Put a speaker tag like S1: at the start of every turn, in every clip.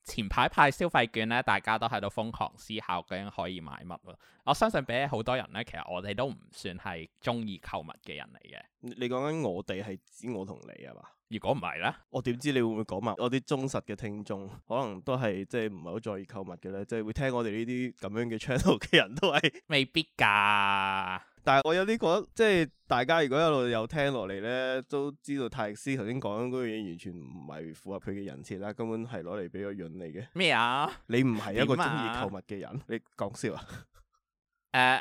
S1: 前排派消費券咧，大家都喺度瘋狂思考究竟可以買乜咯。我相信比起好多人咧，其實我哋都唔算係中意購物嘅人嚟嘅。
S2: 你講緊我哋係指我同你係嘛？
S1: 如果唔係咧，
S2: 我點知你會唔會講埋我啲忠實嘅聽眾，可能都係即係唔係好在意購物嘅咧，即係會聽我哋呢啲咁樣嘅 channel 嘅人都係
S1: 未必㗎。
S2: 但係我有啲覺得，即係大家如果一路有聽落嚟咧，都知道泰斯頭先講嗰樣嘢完全唔係符合佢嘅人設啦，根本係攞嚟俾個潤你嘅。
S1: 咩啊？
S2: 你唔係一個中意購物嘅人，你講笑啊？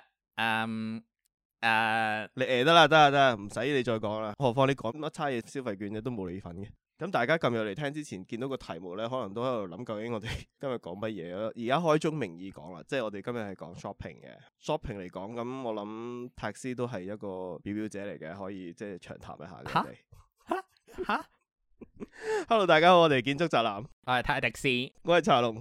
S2: 你得啦，唔使你再講啦。何況你講乜差嘢消費券嘅都冇你份嘅。咁大家撳入嚟聽之前見到個題目咧，可能都喺度諗究竟我哋今日講乜嘢咯。而家開宗明義講啦，即係我哋今日係講 shopping 嘅。shopping 嚟講，咁我諗泰斯都係一個表表者嚟嘅，可以即係長談一下嘅。
S1: 嚇
S2: Hello， 大家好，我哋建築宅男，
S1: 我係泰迪斯，
S2: 我係茶龍。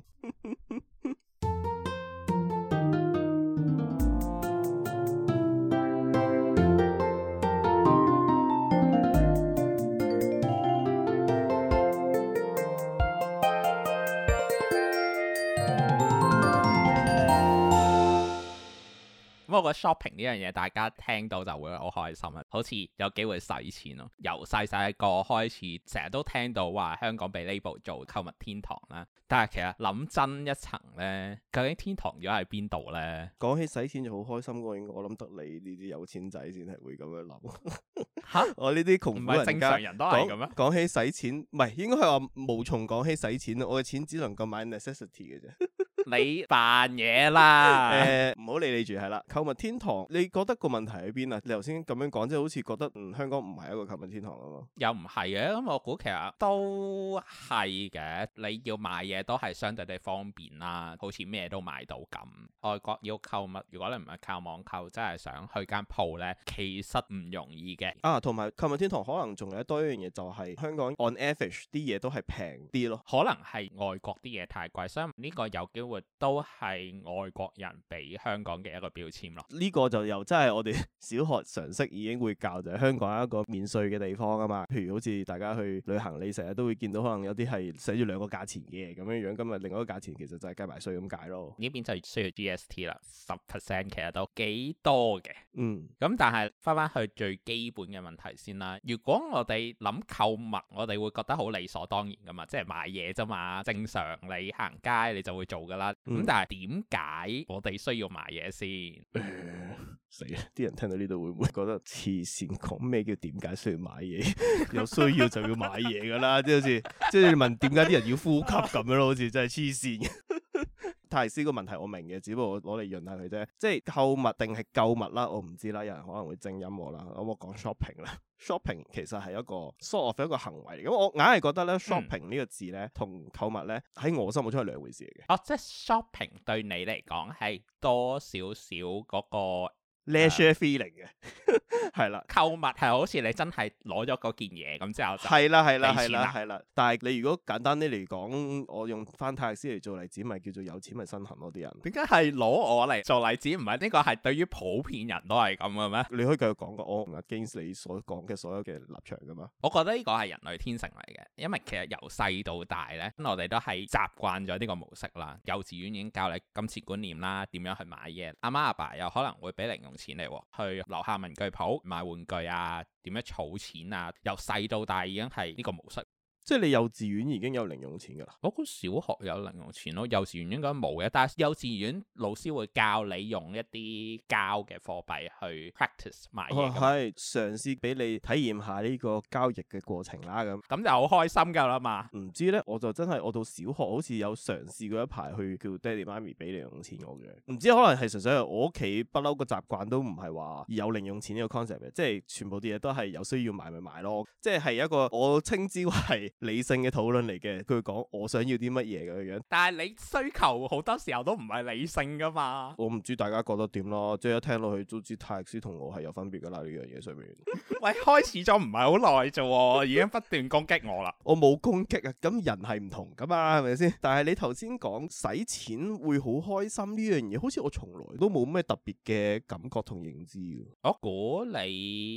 S1: 不過 shopping 呢樣嘢，大家聽到就會好開心啊！好似有機會使錢咯。由細個開始，成日都聽到話香港被 label 做購物天堂啦。但係其實諗真一層呢，究竟天堂咗喺邊度呢？
S2: 講起使錢就好開心嘅，我諗得你呢啲有錢仔先係會咁樣諗。
S1: 嚇！
S2: 我呢啲窮苦人家，
S1: 唔係正常人都係咁咩？
S2: 講起使錢，唔係應該係話無從講起使錢。我嘅錢只能夠買 necessity 嘅啫。
S1: 你扮嘢啦！
S2: 唔好理你住係啦。購物天堂，你覺得個問題喺邊啊？你頭先咁樣講，即係好似覺得香港唔係一個購物天堂啊嘛？
S1: 又唔係嘅，咁我估其實都係嘅。你要買嘢都係相對地方便啦，好似咩都買到咁。外國要購物，如果你唔係靠網購，真係想去間鋪呢，其實唔容易嘅。
S2: 啊，同埋購物天堂可能仲有多一樣嘢，就係香港 on average 啲嘢都係平啲咯。
S1: 可能係外國啲嘢太貴，所以呢個有機會都係外國人俾香港嘅一個標籤咯。
S2: 呢個就又真係我哋小學常識已經會教，就係香港一個免稅嘅地方啊嘛。譬如好似大家去旅行，你成日都會見到可能有啲係寫住兩個價錢嘅咁樣樣，今日另外一個價錢其實就係計埋稅咁解咯。
S1: 呢邊就需要 GST 啦，10% 其實都幾多嘅。咁但係翻去最基本嘅問題先啦。如果我哋諗購物，我哋會覺得好理所當然噶嘛，即係買嘢啫嘛，正常你行街你就會做噶啦。咁但係點解我哋需要買嘢先？
S2: 死啦！啲人聽到呢度會唔會覺得黐線？講咩叫點解需要買嘢？有需要就要買嘢噶啦，即係好似即係你問點解啲人要呼吸咁樣咯，好似真係黐線。泰斯個問題我明嘅，只不過我攞嚟潤下佢啫。即係購物定係購物啦，我唔知啦。有人可能會正音我啦。咁我講 shopping 啦。shopping 其實係一個 sort of 一個行為嚟。咁我硬係覺得咧，shopping 呢個字咧同購物咧喺我心目中係兩回事嚟嘅。
S1: 哦，即係 shopping 對你嚟講係多少少嗰個
S2: leisure feeling 嘅，係啦。
S1: 購物係好似你真係攞咗嗰件嘢咁之後就
S2: 係啦。但係你如果簡單啲嚟講，我用翻泰斯嚟做例子，咪叫做有錢咪身痕咯啲人。
S1: 點解係攞我嚟做例子？唔係呢個係對於普遍人都係咁嘅咩？
S2: 你可以繼續講噶，我唔 against 你所講嘅所有嘅立場噶嘛。
S1: 我覺得呢個係人類天性嚟嘅，因為其實由細到大咧，我哋都係習慣咗呢個模式啦。幼稚園已經教你金錢觀念啦，點樣去買嘢。阿媽阿爸又可能會俾零用錢嚟去樓下文具鋪買玩具啊，點樣儲錢啊，由細到大已經係呢個模式。
S2: 即係你幼稚園已經有零用錢㗎啦？
S1: 我估小學有零用錢咯，幼稚園應該冇嘅。但係幼稚園老師會教你用一啲膠嘅貨幣去 practice 買嘢。
S2: 係嘗試俾你體驗下呢個交易嘅過程啦。
S1: 咁就好開心㗎啦嘛。
S2: 唔知咧，我就真係我到小學好似有嘗試過一排去叫爹哋媽咪俾零用錢我嘅。唔知可能係純粹係我屋企不嬲個習慣都唔係話有零用錢呢個 concept 嘅，即係全部啲嘢都係有需要買咪買咯。即係一個我稱之為理性嘅討論嚟嘅，佢講我想要啲乜嘢咁樣。但係你需求好多時候都唔係理性噶嘛。我唔知大家覺得點咯，即係一聽落去都知泰斯同我係有分別噶啦呢樣嘢上面。
S1: 喂，開始咗唔係好耐啫，已經不斷攻擊我啦。
S2: 我冇攻擊啊，咁人係唔同噶嘛，係咪先？但係你頭先講使錢會好開心呢樣嘢，好似我從來都冇咩特別嘅感覺同認知。
S1: 我估你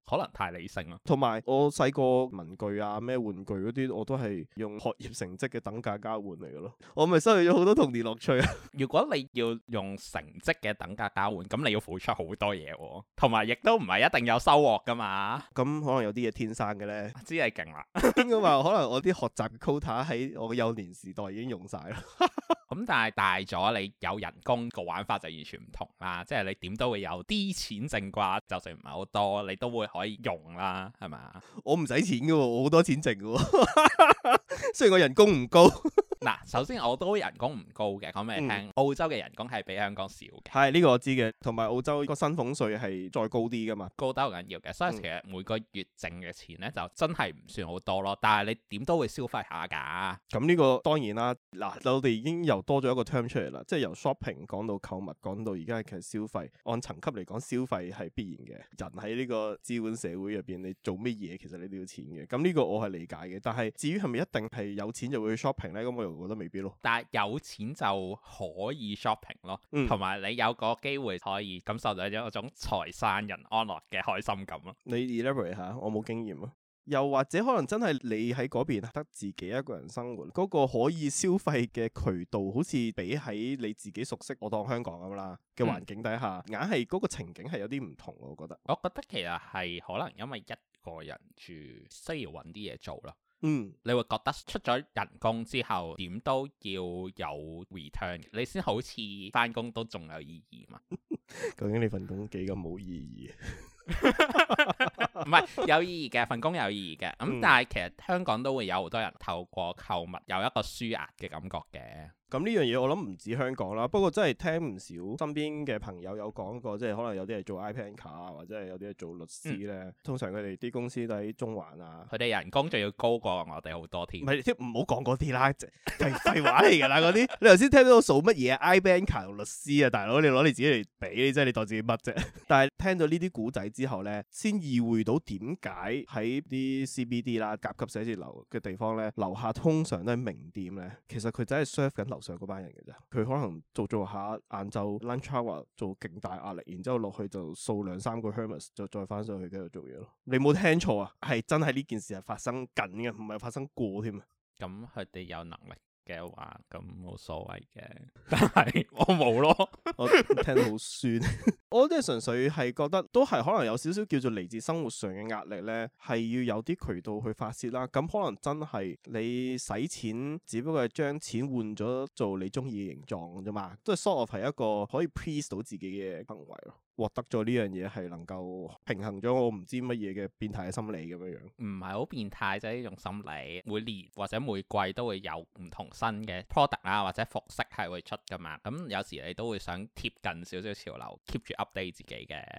S1: 可能太理性咯。
S2: 同埋我細個文具啊咩玩具嗰啲，我都係用學業成績嘅等價交換嚟嘅咯。我咪失去咗好多童年樂趣啊！
S1: 如果你要用成績嘅等價交換，咁你要付出好多嘢喎，同埋亦都唔係一定有收穫噶嘛。
S2: 咁可能有啲嘢天生嘅咧，
S1: 知你勁啦。
S2: 應該話可能我啲學習嘅 quota 喺我嘅幼年時代已經用晒啦。
S1: 咁但係大咗，你有人工個玩法就完全唔同啦。即係你點都會有啲錢剩啩，就算唔係好多，你都會可以用啦，係咪？
S2: 我唔使錢嘅喎，我好多錢剩嘅喎。雖然我人工唔高。
S1: 嗱，首先我都人工唔高嘅，講俾你聽，澳洲嘅人工係比香港少嘅。
S2: 係呢個我知嘅，同埋澳洲個薪俸稅係再高啲噶嘛，
S1: 高得好緊要嘅，所以其實每個月剩嘅錢咧就真係唔算好多咯。但係你點都會消費下㗎。咁
S2: 呢個當然啦，嗱，我哋已經又多咗一個 term 出嚟啦，即係由 shopping 講到購物，講到而家其實消費，按層級嚟講，消費係必然嘅。人喺呢個資本社會入邊，你做乜嘢其實你都要錢嘅。咁呢個我係理解嘅，但係至於係咪一定係有錢就會去 shopping 咧？咁我又覺得未必咯。但係
S1: 有錢就可以 shopping 咯，同埋你有個機會可以感受到一種財散人安樂嘅開心感咯。
S2: 你 elaborate 下，我冇經驗啊。又或者可能真係你喺嗰邊得自己一個人生活，嗰個可以消費嘅渠道，好似比喺你自己熟悉，我當香港咁啦嘅環境底下，硬係嗰個情景係有啲唔同。我覺得
S1: 其實係可能因為一個人住，需要揾啲嘢做咯。
S2: 你
S1: 會覺得出咗人工之後，點都要有 return，你先好似翻工都仲有意義嘛？
S2: 究竟你份工幾咁冇意義？
S1: 唔係有意義嘅，份工有意義嘅。但係其實香港都會有好多人透過購物有一個舒壓嘅感覺嘅。咁呢樣嘢我諗唔止香港啦，不過真係聽唔少身邊嘅朋友有講過，即係可能有啲係做 iPad 卡啊，或者係有啲係做律師咧。通常佢哋啲公司都喺中環啊，佢哋人工仲要高過我哋好多添。唔係，即唔好講嗰啲啦，係廢話嚟㗎啦嗰啲。你頭先聽到我數乜嘢啊？iPad 卡同律師啊，大佬你攞你自己嚟比，真係你當自己乜啫？但係聽到呢啲古仔之後咧，先意會到點解喺啲 CBD 啦、甲級寫字樓嘅地方咧，樓下通常都係名店咧。其實佢真係 serve 緊樓上嗰班人嘅啫，佢可能做下晏晝 lunch hour 做勁大壓力，然之後落去就掃2-3個 Hermes，就再翻上去繼續做嘢咯。你冇聽錯啊，係真係呢件事係發生緊嘅，唔係發生過添啊。咁佢哋有能力嘅話，咁冇所謂嘅，但係我冇咯。我聽到好酸。我即係純粹係覺得都係可能有少少叫做嚟自生活上嘅壓力咧，係要有啲渠道去發洩啦。咁可能真係你使錢，只不過係將錢換咗做你中意嘅形狀啫嘛，都係 sort of 係一個可以 please 到自己嘅行為咯。獲得咗呢樣嘢係能夠平衡咗我唔知乜嘢嘅變態嘅心理咁樣樣，唔係好變態啫，呢種心理每年或者每季都會有唔同新嘅 product 啊或者服飾係會出噶嘛，咁有時你都會想貼近少少潮流 keep 住 update 自己嘅。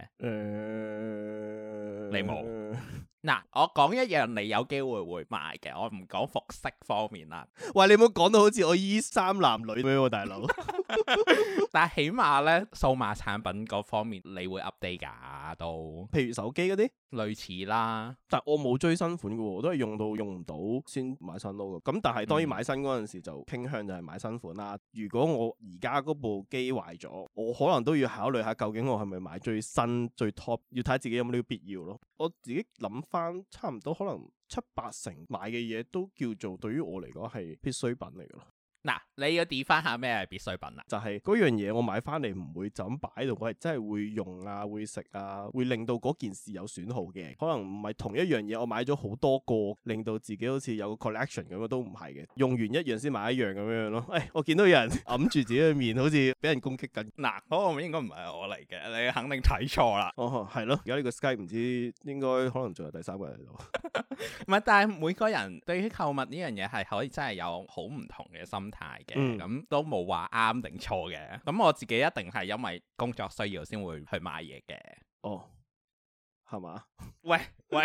S1: 你冇？嗱，我講一樣你有機會會買嘅，我唔講服飾方面啦。喂，你唔好講到好似我衣衫襤褸咁樣，大佬。但係起碼咧，數碼產品嗰方面你會 update 㗎都，譬如手機嗰啲類似啦。但我冇追新款嘅喎，我都係用到用唔到先買新咯。咁但係當然買新嗰陣時就傾向就係買新款啦。如果我而家嗰部機壞咗，我可能都要考慮下究竟我係咪買最新最 top， 要睇自己有冇呢個必要咯。我自己諗翻，差唔多可能7-8成買嘅嘢都叫做對於我嚟講係必需品嚟㗎咯。嗱，你要define翻下咩係必需品啊？就係嗰樣嘢我買翻嚟唔會就咁擺喺度，我係真係會用啊，會食啊，會令到嗰件事有損耗嘅。可能唔係同一樣嘢，我買咗好多個，令到自己好似有個 collection 咁樣，都唔係嘅。用完一樣先買一樣咁樣咯。我見到有人揞住自己嘅面，好似俾人攻擊緊。嗱，嗰個應該唔係我嚟嘅，你肯定睇錯啦。哦，係咯，而家呢個 Skype 唔知應該可能仲有第3個人喺度。唔係，但係每個人對於購物呢樣嘢係可以真係有好唔同嘅心態嘅，咁都冇話啱定錯嘅。咁我自己一定係因為工作需要先會去買嘢嘅。哦，係嘛？喂，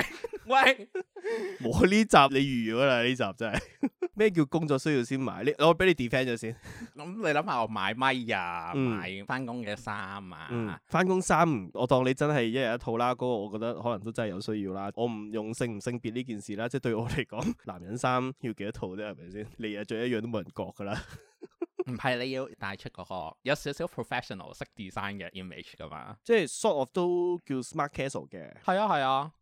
S1: 冇呢集你預咗啦，呢集真係。咩叫工作需要先買？我俾你 defend 咗先。咁你諗下，我買咪啊，買翻工嘅衫啊，翻工衫我當你真係一日一套啦。嗰個我覺得可能都真係有需要啦。我唔用性唔性別呢件事啦，即係對我嚟講，男人衫要幾多套啫？係咪先？你日着一樣都冇人覺噶啦。唔係，你要帶出嗰個有少少 professional 識 design 嘅 image 噶嘛？即係 sort of 都叫 smart casual 嘅。係啊。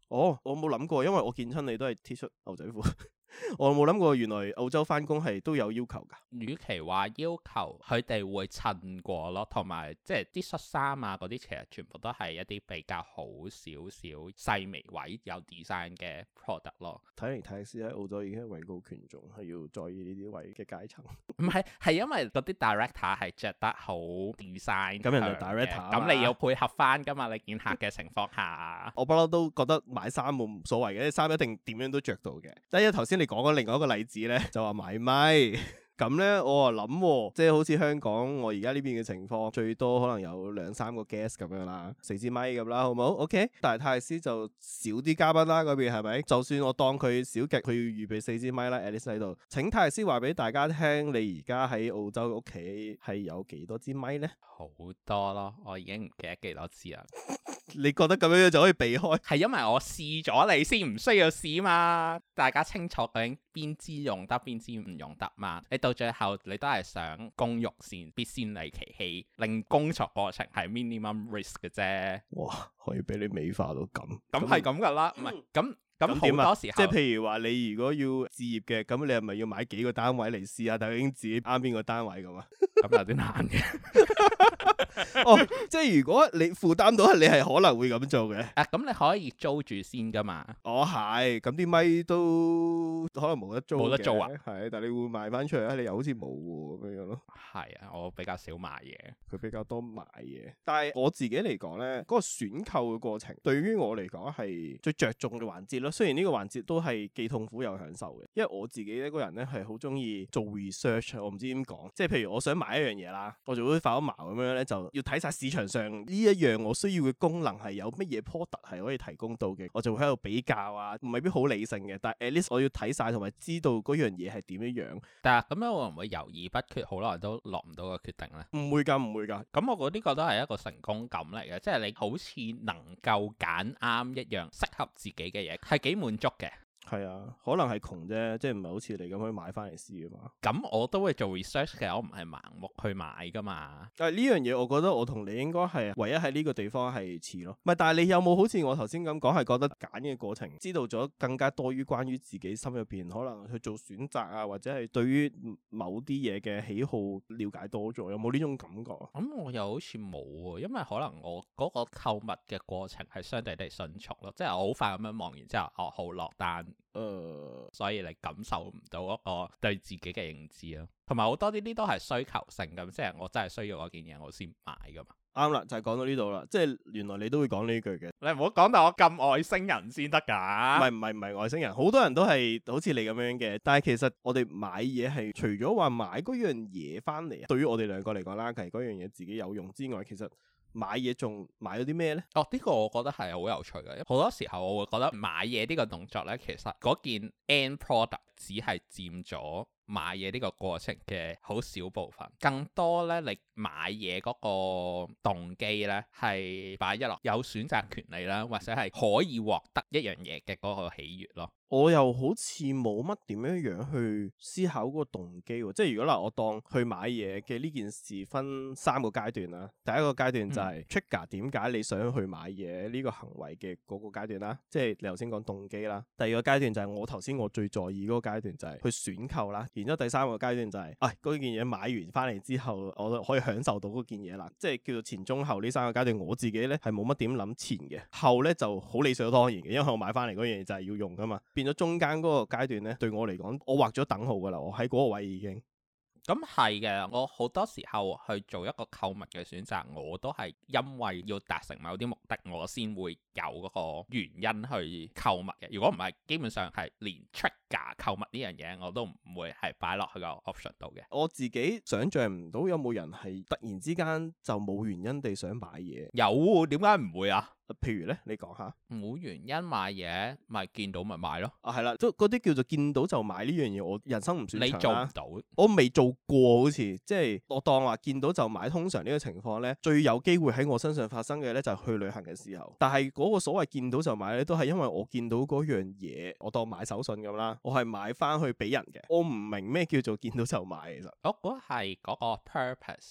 S2: 哦，我冇諗過，因為我見親你都係 T 恤牛仔褲。我冇諗過原來澳洲返工係都有要求㗎。
S1: 與其話要求，佢哋會襯過咯，同埋即係啲恤衫啊嗰啲，其實全部都係一啲比較好少少細微位有 design 嘅 product 咯。
S2: 睇嚟泰斯喺澳洲已經係位高權重，係要在意呢啲位嘅階層。
S1: 唔係，係因為嗰啲 director 係着得好 design，
S2: 咁人哋 director，
S1: 咁你要配合返㗎嘛？你見客嘅情況下，
S2: 我不嬲都覺得買衫冇所謂嘅，衫一定點樣都着到嘅。第一頭先你講咗另外一個例子咧，就話買咪。咁咧，我啊諗，即係好似香港我而家呢邊嘅情況，最多可能有2-3個 guest 咁樣啦，4支咪咁啦，好唔好 ？OK，但係泰斯就少啲嘉賓啦，嗰邊係咪？就算我當佢少極，佢要預備4支咪啦 at least 喺度。請泰斯話俾大家聽，你而家喺澳洲屋企係有幾多支咪咧？
S1: 好多咯，我已經唔記得幾多支啦。
S2: 你覺得咁樣就可以避開？係
S1: 因為我試咗你先唔需要試嘛，大家清楚究竟邊支用得邊支唔用得嘛。你到最後你都係想工欲善必先利其器，令工作過程係 minimum risk 嘅啫。
S2: 哇，可以俾你美化到咁，
S1: 咁係咁噶啦，唔係咁好多時候，
S2: 即係譬如話你如果要置業嘅，咁你係咪要買幾個單位嚟試下，究竟自己啱邊個單位咁啊？
S1: 咁有啲難嘅。
S2: 哦，即係如果你負擔到，你係可能會咁做嘅。
S1: 咁你可以租住先噶嘛？
S2: 哦，係，咁啲咪都可能冇得租，
S1: 冇得租啊？
S2: 係，但係你會賣翻出嚟，你又好似冇喎咁樣咯。
S1: 係啊，我比較少買嘢，
S2: 佢比較多買嘢。但係我自己嚟講咧，嗰個選購嘅過程，對於我嚟講係最着重嘅環節咯。雖然呢個環節都係既痛苦又享受嘅，因為我自己一個人咧係好中意做 research，我唔知點講，即係譬如我想買一樣嘢啦，我就會發咗矛咁樣咧，就要睇晒市場上呢一樣我需要嘅功能係有乜嘢 product 係可以提供到嘅，我就會喺度比較啊，未必好理性嘅，但係 at least 我要睇晒同埋知道嗰樣嘢係點樣樣。但係咁樣會唔會猶豫不決，好耐都落唔到個決定咧？唔會㗎，唔會㗎。咁我覺得呢個都係一個成功感嚟嘅，即係你好似能夠揀啱一樣適合自己嘅嘢，係幾滿足嘅。係啊，可能係窮啫，即係唔係好似你咁可以買翻嚟試啊嘛。咁我都會做 research 嘅，我唔係盲目去買噶嘛。但係呢樣嘢，我覺得我同你應該係唯一喺呢個地方係似咯。唔係，但係你有冇好似我頭先咁講，係覺得揀嘅過程知道咗更加多於關於自己心入邊可能去做選擇啊，或者係對於某啲嘢嘅喜好了解多咗，有冇呢種感覺？咁我又好似冇喎，因為可能我嗰個購物嘅過程係相對地迅速咯，即係我好快咁樣望完之後，哦，好落單。所以你感受唔到嗰個對自己嘅認知咯，同埋好多呢啲都係需求性咁，即係我真係需要嗰件嘢我先買噶嘛。啱啦，就係講到呢度啦，即係原來你都會講呢句嘅。你唔好講到我咁外星人先得㗎。唔係外星人，好多人都係好似你咁樣嘅。但係其實我哋買嘢係除咗話買嗰樣嘢翻嚟，對於我哋兩個嚟講啦，其實嗰樣嘢自己有用之外，其實買嘢仲買咗啲咩呢？哦，呢個我覺得係好有趣嘅。好多時候我會覺得買嘢呢個動作呢，其實嗰件 end product 只係佔咗買嘢呢個過程嘅好少部分，更多呢，你買嘢嗰個動機呢，係擺一落有選擇權利啦，或者係可以獲得一樣嘢嘅嗰個喜悅咯。我又好似冇乜點樣去思考嗰個動機喎，即係如果嗱，我當去買嘢嘅呢件事分3個階段啦。第一個階段就係 trigger 點解你想去買嘢呢個行為嘅嗰個階段啦，即係你頭先講動機啦。第二個階段就係我頭先我最在意嗰個階段就係去選購啦。然之後第三個階段就係嗰件嘢買完翻嚟之後，我都可以享受到嗰件嘢啦，即係叫做前中後呢3個階段。我自己咧係冇乜點諗前嘅，後咧就好理所當然嘅，因為我買翻嚟嗰樣嘢就係要用噶嘛。變咗中間嗰個階段咧，對我嚟講，我畫咗等號噶啦，我喺嗰個位已經。咁係嘅，我好多時候去做一個購物嘅選擇，我都係因為要達成某啲目的，我先會有嗰個原因去購物嘅。如果唔係，基本上係連 trigger 購物呢樣嘢我都唔會係擺落去個 option 度嘅。我自己想像唔到有冇人係突然之間就冇原因地想買嘢。有，點解唔會啊？譬如咧，你講下。冇原因買嘢，咪見到咪買咯。係啦，都嗰啲叫做見到就買呢樣嘢，我人生唔算長啦。你做唔到？我未做過，好似即係我當話見到就買。通常呢個情況咧，最有機會喺我身上發生嘅咧，就係去旅行嘅時候。但係嗰個所謂見到就買咧，都係因為我見到嗰樣嘢，我當買手信咁啦，我係買翻去俾人嘅。我唔明咩叫做見到就買，其實。我覺得係嗰個 purpose。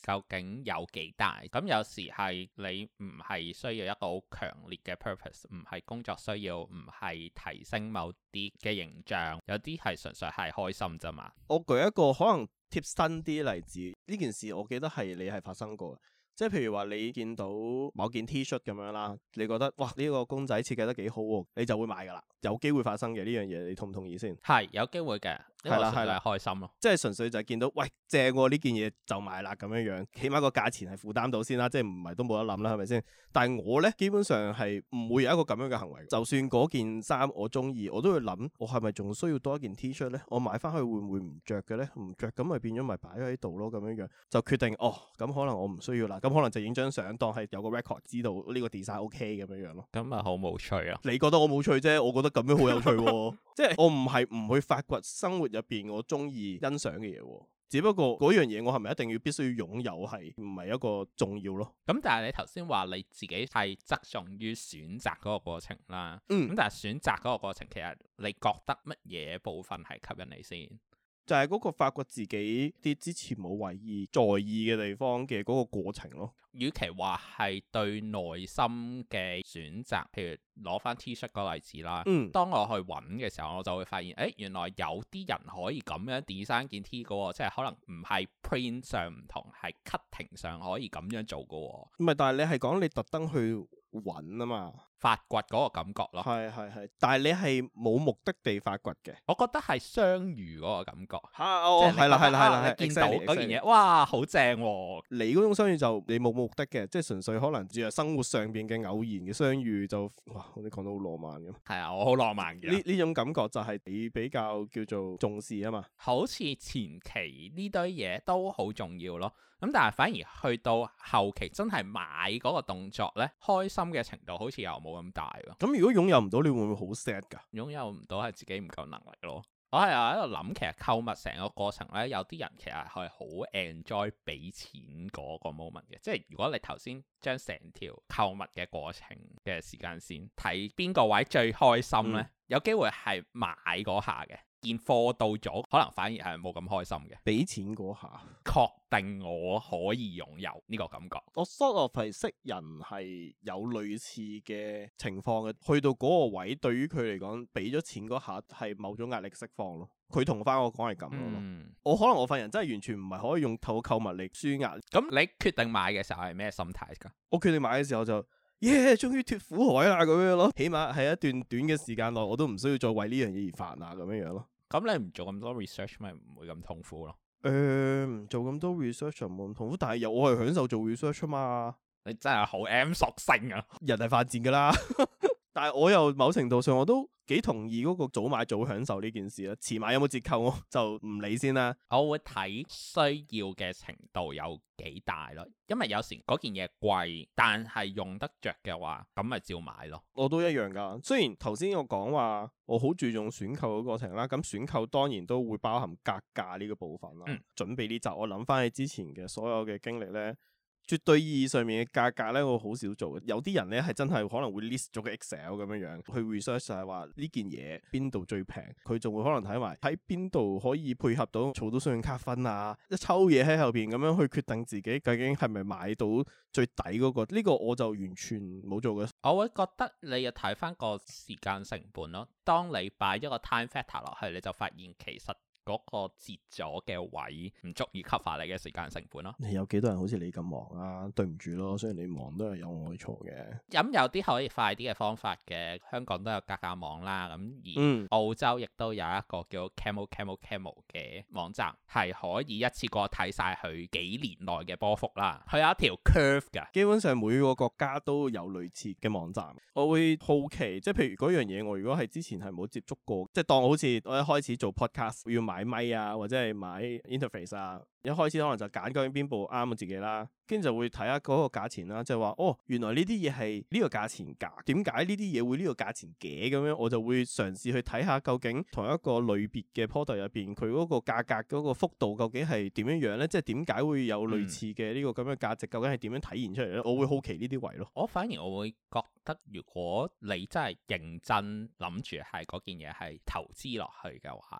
S1: 究竟有幾大？咁有時係你唔係需要一個好強烈嘅 purpose，唔係工作需要，唔係提升某啲嘅形象，有啲係純粹係開心啫嘛。
S2: 我舉一個可能貼身啲例子，呢件事我記得係你係發生過。即係譬如話你見到某件 T-shirt 咁樣啦，你覺得哇呢個公仔設計得幾好喎，你就會買㗎啦，有機會發生嘅呢樣嘢，你同唔同意先？係
S1: 有機會嘅，係啦係啦，開心咯，
S2: 即係純粹就係見到喂正喎呢件嘢就買啦咁樣樣，起碼個價錢係負擔到先啦，即係唔係都冇得諗啦，係咪先？但係我咧基本上係唔會有一個咁樣嘅行為，就算嗰件衫我中意，我都會諗我係咪仲需要多一件 T-shirt 咧？我買翻去會唔會唔着嘅咧？唔着咁咪變咗咪擺喺度咯，咁樣樣就決定哦，咁可能我唔需要啦。咁可能就影張相當係有個 record 知道呢個 design OK 咁樣樣咯。
S1: 咁咪好冇趣啊！
S2: 你覺得我冇趣啫，我覺得咁樣好有趣喎。即係我唔係唔去發掘生活入邊我中意欣賞嘅嘢，只不過嗰樣嘢我係咪一定要必須要擁有係唔係一個重要咯？
S1: 咁但係你頭先話你自己係側重於選擇嗰個過程啦，咁但係選擇嗰個過程其實你覺得乜嘢部分係吸引你先？
S2: 就係嗰個發掘自己啲之前冇為意在意嘅地方嘅嗰個過程咯。
S1: 與其話係對內心嘅選擇，譬如攞翻 T-shirt 個例子啦，當我去揾嘅時候，我就會發現，原來有啲人可以咁樣 design 件 T 嘅喎，即係可能唔係 print 上唔同，係 cutting 上可以咁樣做嘅喎。唔係，
S2: 但係你係講你特登去揾啊嘛，
S1: 發掘嗰個感覺咯。
S2: 係，但係你係冇目的地發掘嘅。
S1: 我覺得係相遇嗰個感覺。
S2: 係啦，
S1: 見到嗰件嘢，哇，好正喎！
S2: 你嗰種相遇就你冇目的嘅，即係純粹可能只係生活上邊嘅偶然嘅相遇就，哇！我哋講到好浪漫咁。
S1: 係啊，我好浪漫嘅。
S2: 呢種感覺就係你比較叫做重視啊嘛。
S1: 好似前期呢堆嘢都好重要咯。咁但係反而去到後期真係買嗰個動作呢，開心嘅程度好似又冇咁大喎。
S2: 咁如果擁有唔到，你會唔會好 sad 㗎？
S1: 擁有唔到係自己唔夠能力咯。我係喺度諗，其實購物成個過程呢，有啲人其實係好 enjoy 俾錢嗰個 moment 嘅。即係如果你頭先將成條購物嘅過程嘅時間線睇邊個位最開心呢，有機會係買嗰下嘅。件貨到咗，可能反而係冇咁開心嘅。俾錢嗰下，確定我可以擁有呢個感覺。我 sort of 係識人係有類似嘅情況嘅，去到嗰個位，對於佢嚟講，俾咗錢嗰下係某種壓力釋放咯。佢同翻我講係咁咯。我可能我份人真係完全唔係可以用透過購物嚟舒壓。咁你決定買嘅時候係咩心態㗎？我決定買嘅時候就終於脫苦海啦咁樣咯，起碼係一段短嘅時間內，我都唔需要再為呢樣嘢而煩啊咁樣樣咯。咁你唔做咁多 research 咪唔會咁痛苦咯？唔做咁多 research 就冇咁痛苦，但係我係享受做 research 啊嘛。你真係好 M 屬性啊！人係犯賤噶啦，但係我又某程度上我都幾同意嗰個早買早享受呢件事啦。遲買有冇折扣我就唔理先啦。我會睇需要嘅程度有幾大咯，因為有時嗰件嘢貴，但係用得着嘅話，咁咪照買咯。我都一樣噶。雖然頭先我講話我好注重選購嘅過程啦，咁選購當然都會包含格價呢個部分啦。準備呢集我諗翻起之前嘅所有嘅經歷呢，絕對意義上面嘅價格咧，我好少做嘅。有啲人咧係真係可能會 list 咗個 Excel 咁樣樣去 research，就係話呢件嘢邊度最平，佢仲會可能睇埋喺邊度可以配合到儲到信用卡分啊，一抽嘢喺後邊咁樣去決定自己究竟係咪買到最抵嗰個。呢個我就完全冇做嘅。我會覺得你要睇翻個時間成本咯。當你擺一個 time factor 落去，你就發現其實嗰個折咗嘅位唔足以 cover 你嘅時間成本咯。你有幾多人好似你咁忙啊？對唔住咯，雖然你忙都係有我嘅錯嘅。咁有啲可以快啲嘅方法嘅，香港都有格價網啦。咁而澳洲亦都有一個叫 Camel 嘅網站，係可以一次過睇晒佢幾年內嘅波幅啦。佢有一條 curve 㗎，基本上每個國家都有類似嘅網站。我會好奇，即係譬如嗰樣嘢，我如果係之前係冇接觸過，即係當好似我一開始做 podcast 要買咪啊，或者係買 interface 啊，一開始可能就揀究竟邊部啱我自己啦，跟住就會睇下嗰個價錢啦，就係話哦，原來呢啲嘢係呢個價錢㗎，點解呢啲嘢會呢個價錢嘅咁樣？我就會嘗試去睇下究竟同一個類別嘅 product 入邊，佢嗰個價格嗰個幅度究竟係點樣樣咧？即係點解會有類似嘅呢個咁嘅價值？究竟係點樣體現出嚟咧？我會好奇呢啲位咯。我反而我會覺得，如果你真係認真諗住係嗰件嘢係投資落去嘅話咧，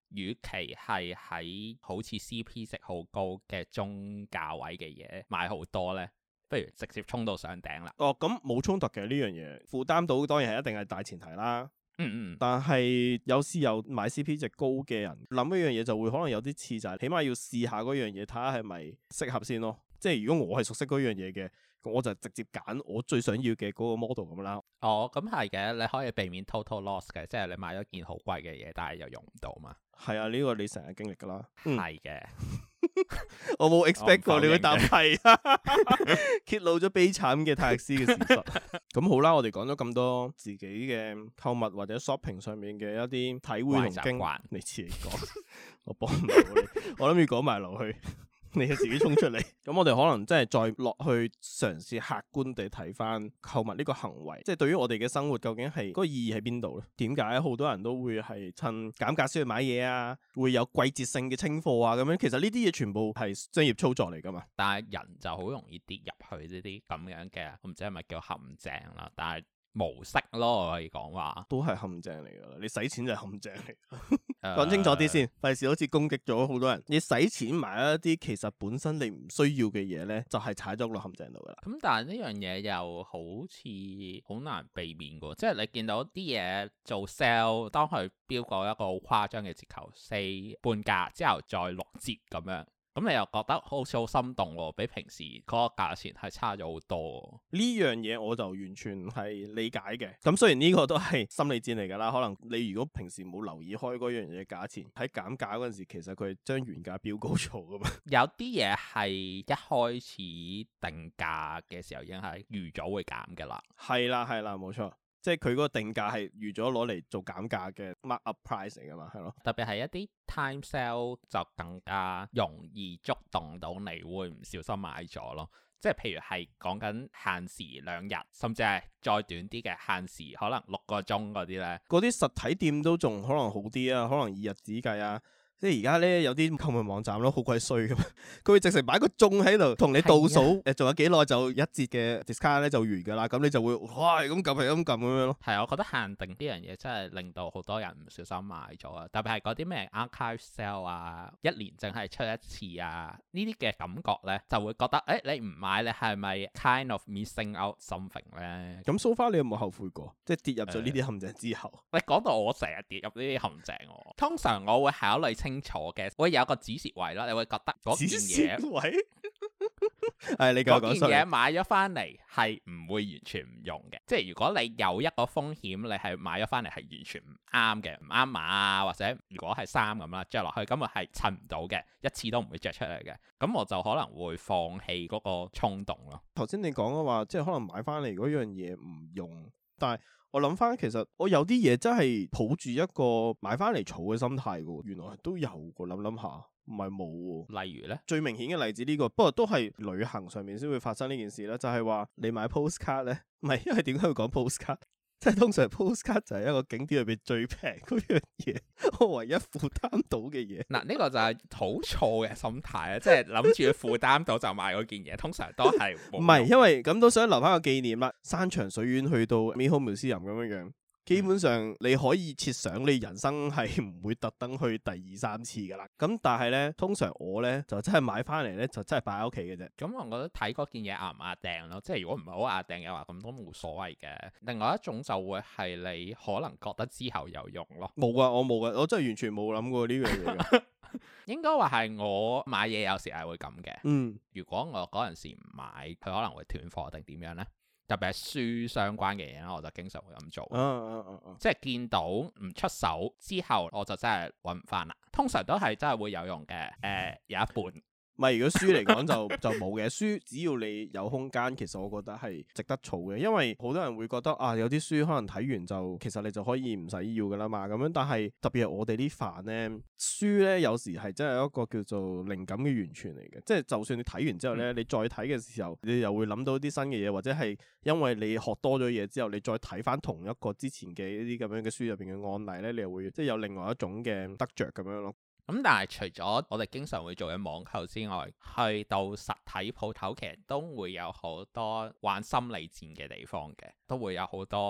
S1: 與其係喺好似 CP 值好高嘅中價位嘅嘢買好多呢，不如直接衝到上頂啦。
S2: 哦，咁冇衝突嘅呢樣嘢，負擔到當然係一定係大前提啦。但係有時有買 CP 值高嘅人諗一樣嘢就會可能有啲似，就係起碼要試下嗰樣嘢，睇下係咪適合先咯。即係如果我係熟悉嗰樣嘢嘅，我就直接揀我最想要嘅嗰個 model 咁啦。
S1: 哦，咁係嘅，你可以避免 total loss 嘅，即係你買咗件好貴嘅嘢，但係又用唔到嘛。
S2: 係啊，呢個你成日經歷噶啦。
S1: 係嘅。
S2: 我冇 expect 過你會答係，揭露咗悲慘嘅泰勒斯嘅事實。咁好啦，我哋講咗咁多自己嘅購物或者 shopping 上面嘅一啲體會同經驗，你自己講，我幫唔到你。我諗要講埋落去。你就自己衝出嚟，咁我哋可能真係再落去嘗試客觀地睇翻購物呢個行為，即係對於我哋嘅生活究竟係嗰個意義喺邊度咧？點解好多人都會係趁減價先去買嘢啊？會有季節性嘅清貨啊？咁樣其實呢啲嘢全部係商業操作嚟噶嘛？
S1: 但係人就好容易跌入去呢啲咁樣嘅，我唔知係咪叫陷阱啦，但係模式咯，我可以講話
S2: 都係陷阱嚟噶啦。你使錢就係陷阱嚟。講清楚啲先，費事好似攻擊咗好多人。你使錢買一啲其實本身你唔需要嘅嘢呢，就係踩咗落陷阱度噶啦。咁
S1: 但係呢樣嘢又好似好難避免噶，即係你見到啲嘢做 sale，當佢標過一個好誇張嘅折扣，4半價之後再6折咁樣。咁你又覺得好似好心動喎，比平時嗰個價錢係差咗好多。
S2: 呢樣嘢我就完全係理解嘅。咁雖然呢個都係心理戰嚟㗎啦，可能你如果平時冇留意開嗰樣嘢價錢，喺減價嗰陣時，其實佢係將原價標高咗㗎嘛。
S1: 有啲嘢係一開始定價嘅時候已經係預咗會減㗎啦。
S2: 係啦，冇錯。即係佢嗰個定價係預咗攞嚟做減價嘅 mark up price 嚟㗎嘛，係咯。
S1: 特別係一啲 time sale 就更加容易觸動到你會唔小心買咗咯。即係譬如係講緊限時2日，甚至係再短啲嘅限時可能6個鐘嗰啲咧。
S2: 嗰啲實體店都仲可能好啲啊，可能以日子計啊。即係而家咧有啲購物網站咯，好鬼衰噶嘛，佢會直情擺個鐘喺度同你倒數，仲有幾耐就1折嘅 discount 咧就完噶啦，咁你就會哇咁撳係咁撳咁樣咯。
S1: 係，我覺得限定呢樣嘢真係令到好多人唔小心買咗啊！特別係嗰啲咩 archive sale 啊，1年淨係出一次啊，呢啲嘅感覺咧就會覺得你唔買你係咪 kind of missing out something 咧？
S2: 咁 so far 你有冇後悔過？即係跌入咗呢啲陷阱之後？
S1: 你講到我成日跌入呢啲陷阱，通常我會考慮清楚嘅，會有個止蝕位咯。你會覺得嗰件嘢，止蝕位係你嗰件嘢買咗翻嚟係唔會完全唔用嘅。即係如果你有一個風險，你係買咗翻嚟係完全唔啱嘅，唔啱碼啊，或者如果係衫咁啦，着落去根本係襯唔到嘅，一次都唔會着出嚟嘅。咁我就可能會放棄嗰個衝動咯。頭先你講嘅話，即係可能買翻嚟嗰樣嘢唔用，但係我諗翻，其實我有啲嘢真係抱住一個買翻嚟儲嘅心態嘅，原來都有個諗下，唔係冇。例如呢，最明顯嘅例子呢個，不過都係旅行上面先會發生呢件事啦，就係話你買 postcard 呢，唔係，因為點解會講 postcard？即係通常 postcard 就係一個景點入邊最平嗰樣嘢，我唯一負擔到嘅嘢。嗱，呢個就係好錯嘅心態啊！即係諗住負擔到就買嗰件嘢，通常都係唔係，因為咁都想留翻個紀念啦。山長水遠去到 Mayhome Museum 咁樣樣。基本上你可以設想你人生係唔會特登去第2、3次噶啦，咁但係呢，通常我呢就真係買翻嚟呢，就真係擺喺屋企嘅啫。咁我覺得睇嗰件嘢壓唔壓訂咯，即係如果唔係好壓訂嘅話，咁都冇所謂嘅。另外一種就會係你可能覺得之後有用咯。冇啊，我冇啊，我真係完全冇諗過呢樣嘢㗎。應該話係我買嘢有時係會咁嘅。如果我嗰陣時唔買，佢可能會斷貨定點樣呢？特別係書相關嘅嘢咧，我就經常會咁做。即係見到唔出手之後，我就真係揾唔翻啦。通常都係真係會有用嘅。有一半。唔係，如果書嚟講就冇嘅。書只要你有空間，其實我覺得係值得儲嘅。因為好多人會覺得啊，有啲書可能睇完就其實你就可以唔使要噶啦嘛。咁樣，但係特別係我哋啲飯呢，書呢有時係真係一個叫做靈感嘅源泉嚟嘅。即係就算你睇完之後呢，你再睇嘅時候，你又會諗到啲新嘅嘢，或者係因為你學多咗嘢之後，你再睇翻同一個之前嘅一啲咁樣嘅書入邊嘅案例呢，你又會即係有另外一種嘅得着咁樣咯。咁但係除咗我哋經常會做嘅網購之外，去到實體鋪頭其實都會有好多玩心理戰嘅地方嘅，都會有好多特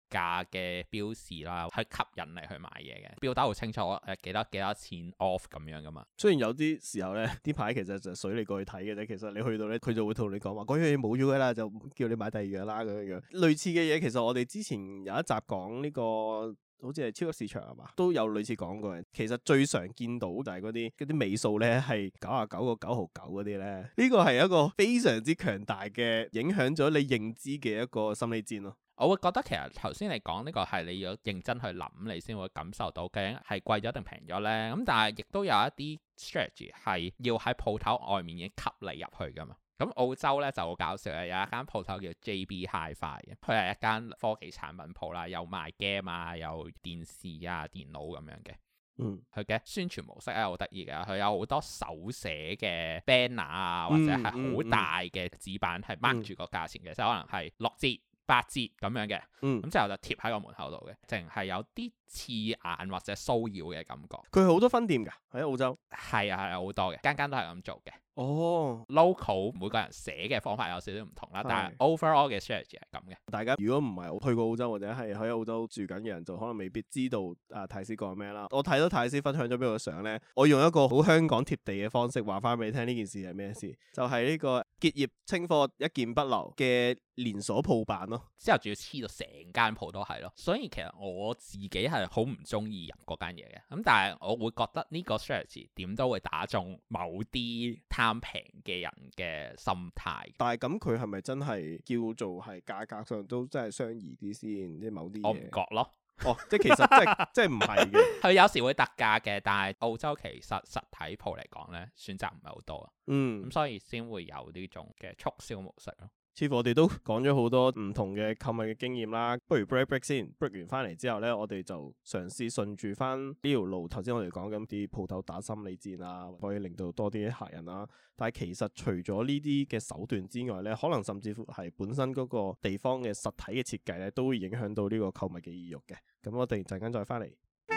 S1: 價嘅標示啦，去吸引你去買嘢嘅，標得好清楚幾多錢 off 咁樣噶嘛。
S2: 雖然有啲時候咧，啲牌其實就水你過去睇嘅啫，其實你去到咧，佢就會同你講話嗰樣嘢冇咗噶啦，就叫你買第二樣啦咁樣樣。類似嘅嘢，其實我哋之前有一集講呢個。好似係超級市場係嘛，都有類似講過嘅。其實最常見到就係嗰啲尾數咧係99.9毫9嗰啲咧，呢個係一個非常之強大嘅影響咗你認知嘅一個心理戰咯。
S1: 我會覺得其實頭先你講呢個係你要認真去諗，你先會感受到究竟係貴咗定平咗呢。咁但係亦都有一啲 strategy 係要喺鋪頭外面已經吸你入去噶嘛。咁澳洲咧就好搞笑嘅，有一間鋪頭叫 JB Hi-Fi 嘅，佢係一間科技產品鋪啦，有賣 game 啊，有電視啊、電腦咁樣嘅。佢嘅宣傳模式咧好得意嘅，佢有好多手寫嘅 banner 啊，或者係好大嘅紙板係 mark 住個價錢嘅，即係可能係6折、8折咁樣嘅。咁之後就貼喺個門口度嘅，淨係有啲刺眼或者騷擾嘅感覺。
S2: 佢好多分店㗎喺澳洲。
S1: 係啊，好多嘅，間間都係咁做嘅。
S2: 哦
S1: local 每個人寫嘅方法有少少唔同啦，但係 overall 嘅 strategy 係咁嘅。大
S2: 家如果唔係去過澳洲或者係喺澳洲住緊嘅人，就可能未必知道泰斯講咩啦。我睇到泰斯分享咗俾我嘅相咧，我用一個好香港貼地嘅方式話翻俾你聽呢件事係咩事，就係呢個結業清貨一件不留嘅連鎖鋪辦咯。
S1: 之後仲要黐到成間鋪都係咯，所以其實我自己係好唔中意入嗰間嘢嘅。咁但係我會覺得呢個 strategy 點都會打中某啲貪平嘅人嘅心態。
S2: 但係咁佢係咪真係叫做係價格上都真係相宜啲先？即係某啲嘢
S1: 我唔覺咯。
S2: 哦，即係其實即係唔係嘅。
S1: 佢有時會特價嘅，但係澳洲其實實體鋪嚟講咧，選擇唔係好多啊。咁所以先會有呢種嘅促銷模式咯。
S2: 似乎我哋都講咗好多唔同嘅購物嘅經驗啦，不如 break 先 break 完翻嚟之後呢，我哋就嘗試順住翻呢條路。頭先我哋講緊啲鋪頭打心理戰啊，可以令到多啲客人啦。但係其實除咗呢啲嘅手段之外呢，可能甚至乎係本身嗰個地方嘅實體嘅設計呢，都會影響到呢個購物嘅意欲嘅。咁我哋陣間再翻嚟。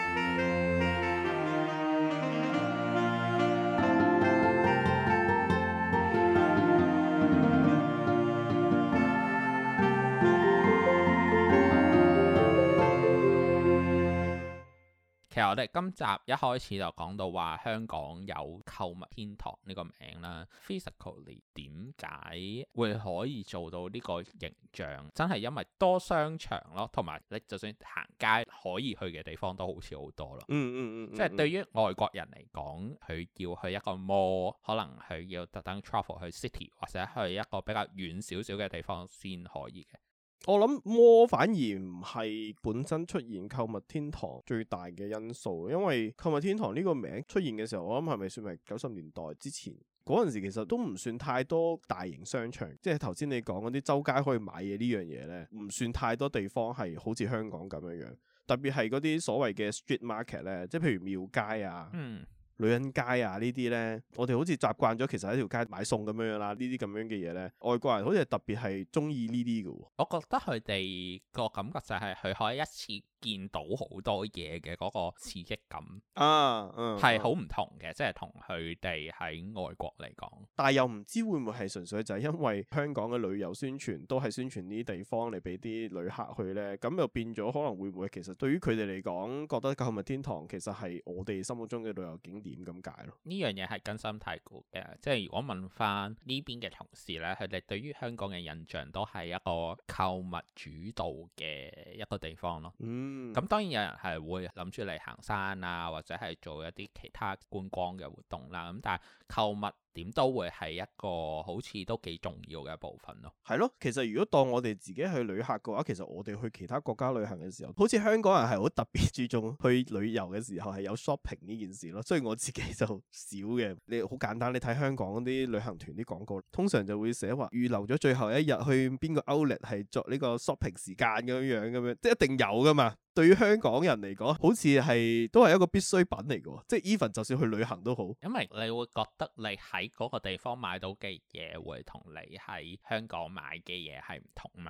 S1: 其實我哋今集一開始就講到話香港有購物天堂呢個名啦 ，physically 點解會可以做到呢個形象？真係因為多商場咯，同埋你就算行街可以去嘅地方都好似好多咯。即係對於外國人嚟講，佢要去一個 mall，可能佢要特登 travel 去 city 或者去一個比較遠少少嘅地方先可以嘅。
S2: 我諗摩反而唔係本身出現購物天堂最大嘅因素，因為購物天堂呢個名出現嘅時候，我諗係咪算係90年代之前嗰陣時，其實都唔算太多大型商場，即係頭先你講嗰啲周街可以買嘢呢樣嘢呢，唔算太多地方係好似香港咁樣樣，特別係嗰啲所謂嘅 street market 呢，即係譬如廟街啊。女人街啊呢啲呢，我哋好似習慣咗，其實喺條街買餸咁樣樣啦。呢啲咁樣嘅嘢呢，外國人好似係特別係中意呢啲嘅。
S1: 我覺得佢哋個感覺就係佢可以一次見到好多嘢嘅嗰個刺激感係好唔同嘅，即係同佢哋喺外國嚟講。
S2: 但係又唔知會唔會係純粹就係因為香港嘅旅遊宣傳都係宣傳呢啲地方嚟俾啲旅客去呢，咁又變咗可能會唔會其實對於佢哋嚟講，覺得購物天堂其實係我哋心目中嘅旅遊景點咁解咯。
S1: 呢樣嘢係根深蒂固嘅，即係如果問翻呢邊嘅同事呢，佢哋對於香港嘅印象都係一個購物主導嘅一個地方咯。咁當然有人係會諗住嚟行山啊，或者係做一啲其他觀光嘅活動啦。咁但係購物點都會係一個好似都幾重要嘅部分咯。
S2: 係咯，其實如果當我哋自己去旅客嘅話，其實我哋去其他國家旅行嘅時候，好似香港人係好特別注重去旅遊嘅時候係有 shopping 呢件事咯。所以我自己就少嘅。你好簡單，你睇香港嗰啲旅行團啲廣告，通常就會寫話預留咗最後一日去邊個 outlet 係作呢個 shopping 時間咁樣，即係一定有噶嘛。對於香港人嚟講，好似係都係一個必需品嚟嘅，即係 even 就算去旅行都好。
S1: 因為你會覺得你喺嗰個地方買到嘅嘢會同你喺香港買嘅嘢係唔同嘛。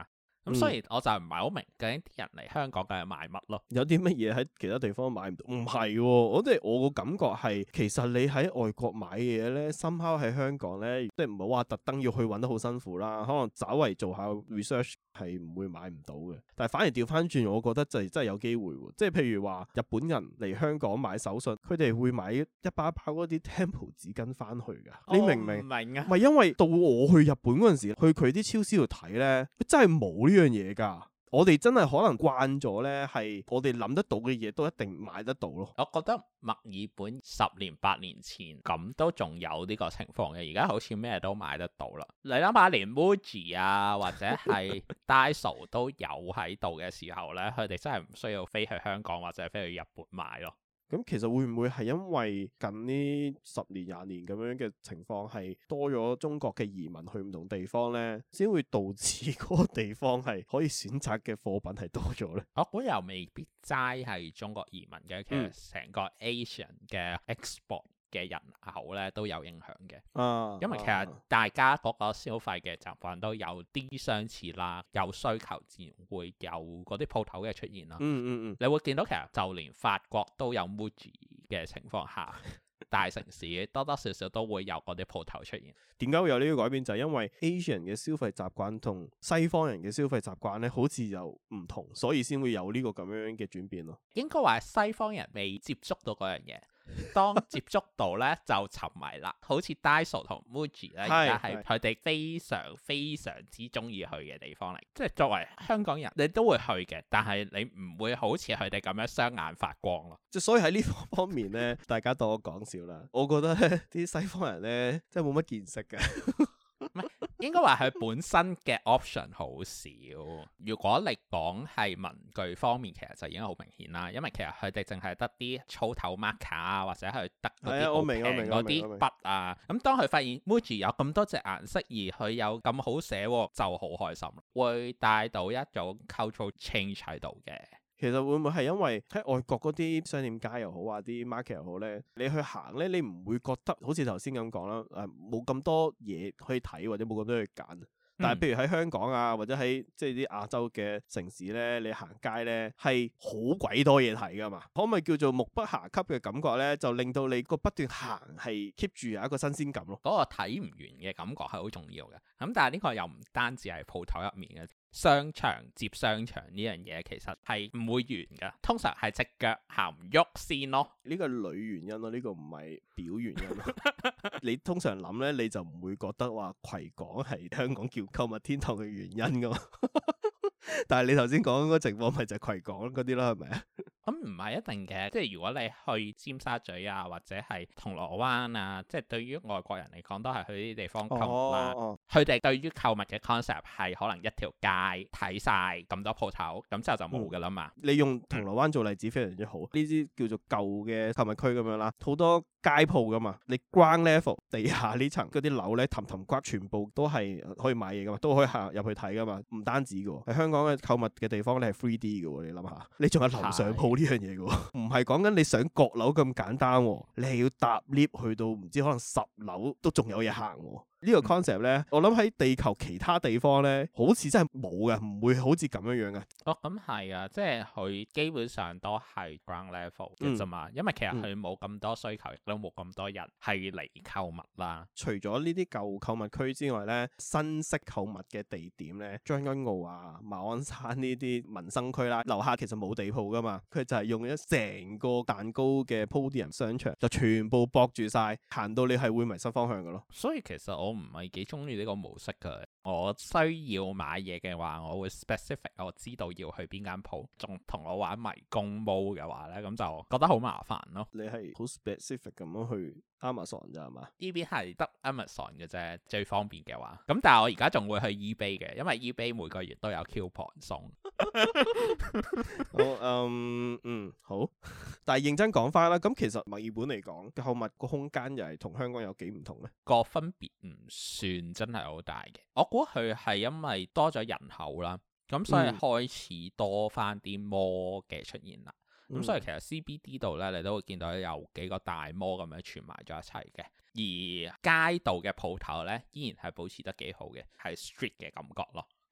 S1: 咁所以我就唔係好明究竟啲人嚟香港究竟買乜咯？
S2: 有啲乜嘢喺其他地方買唔到？唔係喎，我個感覺係其實你喺外國買嘢咧，somehow喺香港咧，即係唔好話特登要去揾得好辛苦啦，可能稍為做下 research 係唔會買唔到嘅。但係反而調翻轉，我覺得就真係有機會喎。即係譬如話日本人嚟香港買手信，佢哋會買一包包嗰啲 Tempo 紙巾翻去㗎。你明唔明？
S1: 唔明啊！
S2: 唔係因為到我去日本嗰陣時，去佢啲超市度睇咧，真係冇呢樣嘢㗎。我哋真係可能慣咗咧，係我哋諗得到嘅嘢都一定買得到咯。
S1: 我覺得墨爾本10年8年前咁都仲有呢個情況嘅，而家好似咩都買得到啦。你諗下，連 Muji 啊或者係 Daiso 都有喺度嘅時候咧，佢哋真係唔需要飛去香港或者飛去日本買咯。
S2: 咁其實會唔會係因為近呢10年20年咁樣嘅情況係多咗中國嘅移民去唔同地方呢，先會導致嗰個地方係可以選擇嘅貨品係多咗呢？
S1: 我估又未必齋係中國移民嘅，其實成個 Asian 嘅 export 嘅人口咧都有影響嘅，因為其實大家嗰個消費嘅習慣都有啲相似啦，有需求自然會有嗰啲鋪頭嘅出現啦。你會見到其實就連法國都有 Muji 嘅情況下，大城市多多少少都會有嗰啲鋪頭出現。
S2: 點解會有呢個改變？就係因為 Asian 嘅消費習慣同西方人嘅消費習慣咧，好似又唔同，所以先會有呢個咁樣嘅轉變咯。
S1: 應該話西方人未接觸到嗰樣嘢。當接觸到咧就沉迷啦，好似 Daiso 同 Muji 咧，而家係佢哋非常非常之中意去嘅地方嚟。即係作為香港人，你都會去嘅，但係你唔會好似佢哋咁樣雙眼發光咯。
S2: 即係所以喺呢方面咧，大家當我講笑啦。我覺得咧，啲西方人咧，真係冇乜見識嘅。
S1: 唔係，應該話佢本身嘅 option 好少。如果你講係文具方面，其實就已經好明顯啦。因為其實佢哋淨係得啲粗頭 marker 啊，或者係得嗰啲好平嗰啲筆啊。咁當佢發現 Muji 有咁多隻顏色，而佢有咁好寫，就好開心，會帶到一種 cultural change 喺度嘅。
S2: 其實會唔會係因為喺外國嗰啲商店街又好啊，啲 market 又好咧，你去行咧，你唔會覺得好似頭先咁講啦，冇咁多嘢可以睇或者冇咁多嘢揀。但係譬如喺香港啊，或者喺即係啲亞洲嘅城市咧，你行街咧係好鬼多嘢睇噶嘛？可唔可以叫做目不暇給嘅感覺咧？就令到你個不斷行係 keep 住有一個新鮮感咯。
S1: 嗰個睇唔完嘅感覺係好重要嘅。咁但係呢個又唔單止係鋪頭入面嘅。商場接商場呢樣嘢其實係唔會完㗎，通常係隻腳行唔喐先咯。呢個係裏原因咯，呢個唔係表原因咯。你通常諗咧，你就唔會覺得話葵港係香港叫購物天堂嘅原因㗎嘛。但係你頭先講嗰個情況咪就係葵港嗰啲啦，係咪啊？咁唔係一定嘅，即係如果你去尖沙咀啊，或者係銅鑼灣啊，即係對於外國人嚟講都係去呢啲地方購物啦。佢哋對於購物嘅 concept 係可能一條街睇晒咁多鋪頭，咁之後就冇㗎啦嘛。你用銅鑼灣做例子非常之好，呢啲叫做舊嘅購物區咁樣啦，好多街鋪噶嘛。你 ground level 地下呢層嗰啲樓咧，氹氹骨全部都係可以買嘢噶嘛，都可以行入去睇噶嘛。唔單止㗎喎，喺香港嘅購物嘅地方咧係 3D 㗎喎，你諗下，你仲有樓上鋪呢樣嘢㗎喎，唔係講緊你上閣樓咁簡單喎，你係要搭 lift 去到唔知可能10樓都仲有嘢行喎。呢個 concept 咧，我諗喺地球其他地方咧，好似真係冇嘅，唔會好似咁樣樣嘅。哦，咁係啊，即係佢基本上都係 ground level 嘅啫嘛，因為其實佢冇咁多需求，亦都冇咁多人係嚟購物啦。除咗呢啲舊購物區之外咧，新式購物嘅地點咧，將軍澳啊、馬鞍山呢啲民生區啦，樓下其實冇地鋪噶嘛，佢就係用咗成個蛋糕嘅 podium 商場，就全部駁住晒，行到你係會迷失方向嘅咯。所以其實我唔係幾中意呢個模式㗎。我需要買嘢嘅話，我會 specific， 我知道要去邊間鋪，仲同我玩迷宮 mode 嘅話咧，咁就覺得好麻煩咯。你係好 specific 咁樣去 Amazon 咋係嘛？呢邊係得 Amazon 嘅啫，最方便嘅話。咁但係我而家仲會去 eBay 嘅，因為 eBay 每個月都有 coupon 送。好。但係認真講翻啦，咁其實墨爾本嚟講，購物個空間又係同香港有幾唔同咧？個分別唔算真係好大嘅。我估佢係因為多咗人口啦，咁所以開始多翻啲 mall 嘅出現啦。咁所以其實 CBD 度咧，你都會見到有幾個大 mall 咁樣串埋咗一齊嘅。而街道嘅鋪頭咧，依然係保持得幾好嘅，係 street 嘅感覺咯。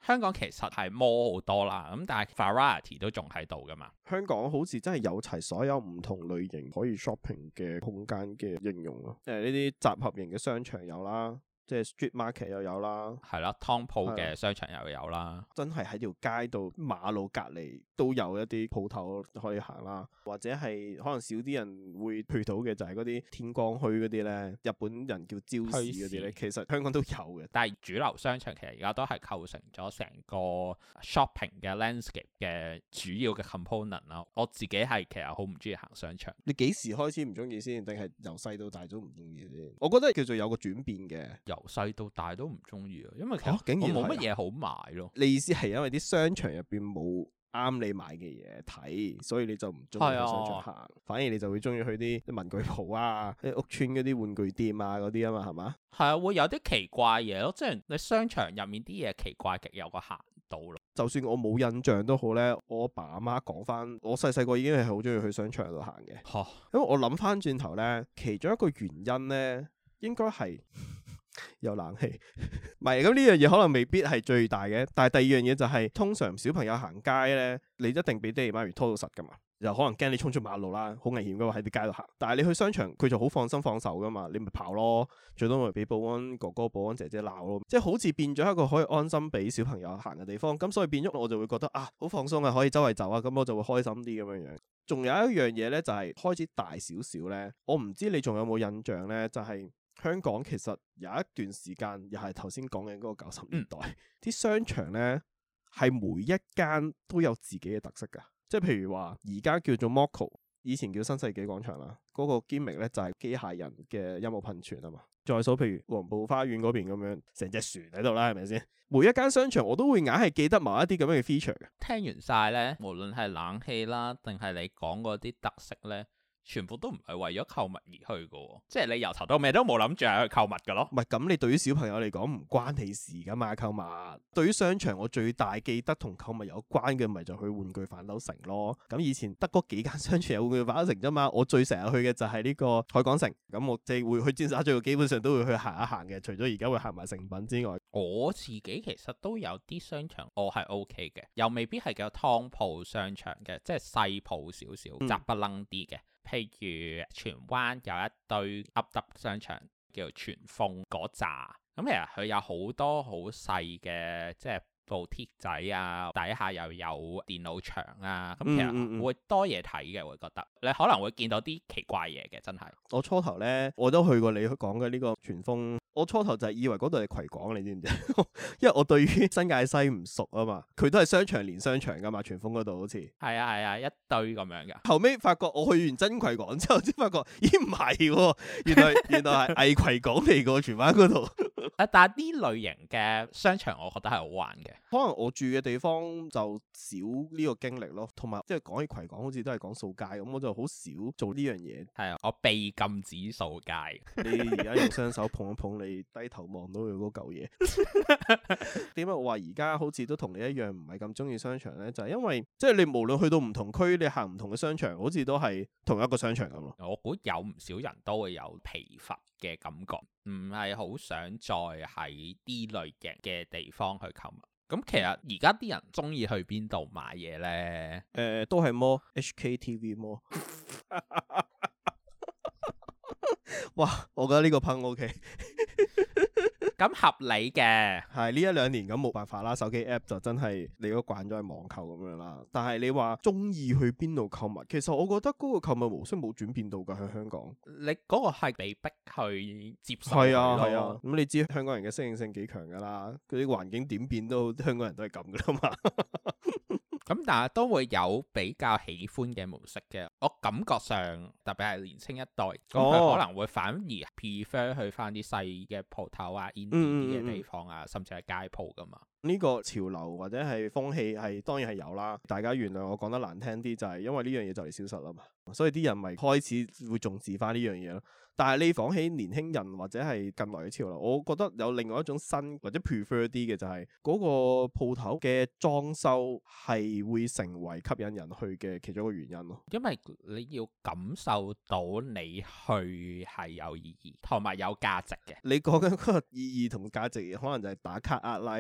S1: 香港其實係more好多啦，咁但係 variety 都仲喺度噶嘛。
S2: 香港好似真係有齊所有唔同類型可以 shopping 嘅空間嘅應用咯。呢啲集合型嘅商場有啦。即係 street market 又有啦，
S1: 係啦，湯鋪嘅商場又有啦，
S2: 真係喺條街度馬路隔離都有一啲鋪頭可以行啦，或者係可能少啲人會去到嘅就係嗰啲天光墟嗰啲咧，日本人叫朝市嗰啲咧，其實香港都有嘅。
S1: 但係主流商場其實而家都係構成咗成個 shopping 嘅 landscape 嘅主要嘅 component 啦。我自己係其實好唔中意行商場。
S2: 你幾時開始唔中意先？定係由細到大都唔中意先？我覺得叫做有個轉變嘅。
S1: 由細到大都唔中意啊，因為其實我冇乜嘢好買咯。
S2: 你意思係因為啲商場入邊冇啱你買嘅嘢睇，所以你就唔中意去商場行，反而你就會中意去啲文具鋪啊、啲屋村嗰啲玩具店啊嗰啲啊嘛，係嘛？
S1: 係啊，會有啲奇怪嘢咯，即係你商場入面啲嘢奇怪極有個限度咯。就算
S2: 我冇印象都好咧，我阿爸阿媽講翻，我細細個已經係好中意去商場度行嘅。因為我諗翻轉頭咧，其中一個原因咧，應該係有冷氣，唔係咁呢樣嘢可能未必係最大嘅，但係第二樣嘢就係通常小朋友行街咧，你一定俾爹哋媽咪拖到實噶嘛，又可能驚你衝出馬路啦，好危險噶嘛喺啲街度行。但係你去商場，佢就好放心放手噶嘛，你咪跑咯，最多咪俾保安哥哥、保安姐姐鬧咯，即係好似變咗一個可以安心俾小朋友行嘅地方。咁所以變咗我就會覺得啊，好放鬆啊，可以周圍走啊，咁我就會開心啲咁樣樣。仲有一樣嘢咧，就係開始大少少咧，我唔知你仲有冇印象咧，就係香港其實有一段時間，又係頭先講嘅嗰個90年代，啲商場咧係每一間都有自己嘅特色㗎。即係譬如話，而家叫做 Moco， 以前叫新世紀廣場啦。嗰個 gimmick 咧就係機械人嘅音樂噴泉啊嘛。再數譬如黃埔花園嗰邊咁樣，成隻船喺度啦，係咪先？每一間商場我都會硬係記得某一啲咁樣嘅 feature 嘅。
S1: 聽完晒咧，無論係冷氣啦，定係你講嗰啲特色咧，全部都唔係為咗購物而去嘅，即係你由頭到尾都冇諗住係去購物嘅咯。
S2: 唔係咁，你對於小朋友嚟講唔關你事噶嘛，購物。對於商場，我最大記得同購物有關嘅，咪就去玩具反斗城咯。咁以前得嗰幾間商場有玩具反斗城啫嘛，我最成日去嘅就係呢個海港城。咁我即係會去尖沙咀，基本上都會去行一行嘅。除咗而家會行埋誠品之外，我
S1: 自己其實都有啲商場我係 OK 嘅，又未必係叫湯鋪商場嘅，即係細鋪少少，雜不楞啲嘅。譬如荃灣有一堆噏噏商場叫做荃豐嗰扎，咁其實佢有好多好細嘅，即係部鐵仔啊，底下又有電腦牆啊，咁其實會多嘢睇嘅，會覺得你可能會見到啲奇怪嘢嘅，真係。我初頭呢，我都去過你講嘅呢個荃豐。我初頭就係以為嗰度係葵港，你知唔知？因為我對於新界西唔熟啊嘛，佢都係商場連商場噶嘛，荃豐嗰度好似係啊，一堆咁樣噶。後尾發覺我去完真葵港之後，先發覺咦唔係，原來係偽葵港嚟個荃灣嗰度。但係呢類型嘅商場，我覺得係好玩嘅。可能我住嘅地方就少呢個經歷咯，同埋即係講起葵港，好似都係講掃街咁，我就好少做呢樣嘢。係啊，我被禁止掃街。你而家用雙手碰一碰。你低頭望到佢嗰嚿嘢，點解我話而家好似都同你一樣唔係咁中意商場呢？就係因為即係你無論去到唔同區，你行唔同嘅商場，好似都係同一個商場咁咯。我估有唔少人都會有疲乏嘅感覺，唔係好想再喺呢類型嘅地方去購物。咁其實而家啲人中意去邊度買嘢呢？都係 HKTV Mall。哇，我覺得呢個噴 OK。咁合理嘅，係呢一兩年咁冇辦法啦，手機 app 就真係你都慣咗係網購咁樣啦。但係你話中意去邊度購物，其實我覺得嗰個購物模式冇轉變到㗎喺香港。你嗰個係被逼去接受。係啊。咁你知香港人嘅適應性幾強㗎啦，佢啲環境點變都香港人都係咁㗎啦嘛。咁但係都會有比較喜歡嘅模式嘅，我感覺上特別係年輕一代，咁佢可能會反而 prefer 去翻啲細嘅鋪頭啊、indie 啲嘅地方啊，甚至係街鋪噶嘛。呢個潮流或者係風氣係當然係有啦，大家原諒我講得難聽啲，就係因為呢樣嘢就嚟消失啦嘛，所以啲人咪開始會重視翻呢樣嘢咯。但係你講起年輕人或者係近來嘅潮流，我覺得有另外一種新或者 prefer 啲嘅就係嗰個鋪頭嘅裝修係會成為吸引人去嘅其中一個原因咯。因為你要感受到你去係有意義同埋有價值嘅。你講緊嗰個意義同價值可能就係打卡壓 like 啦，因為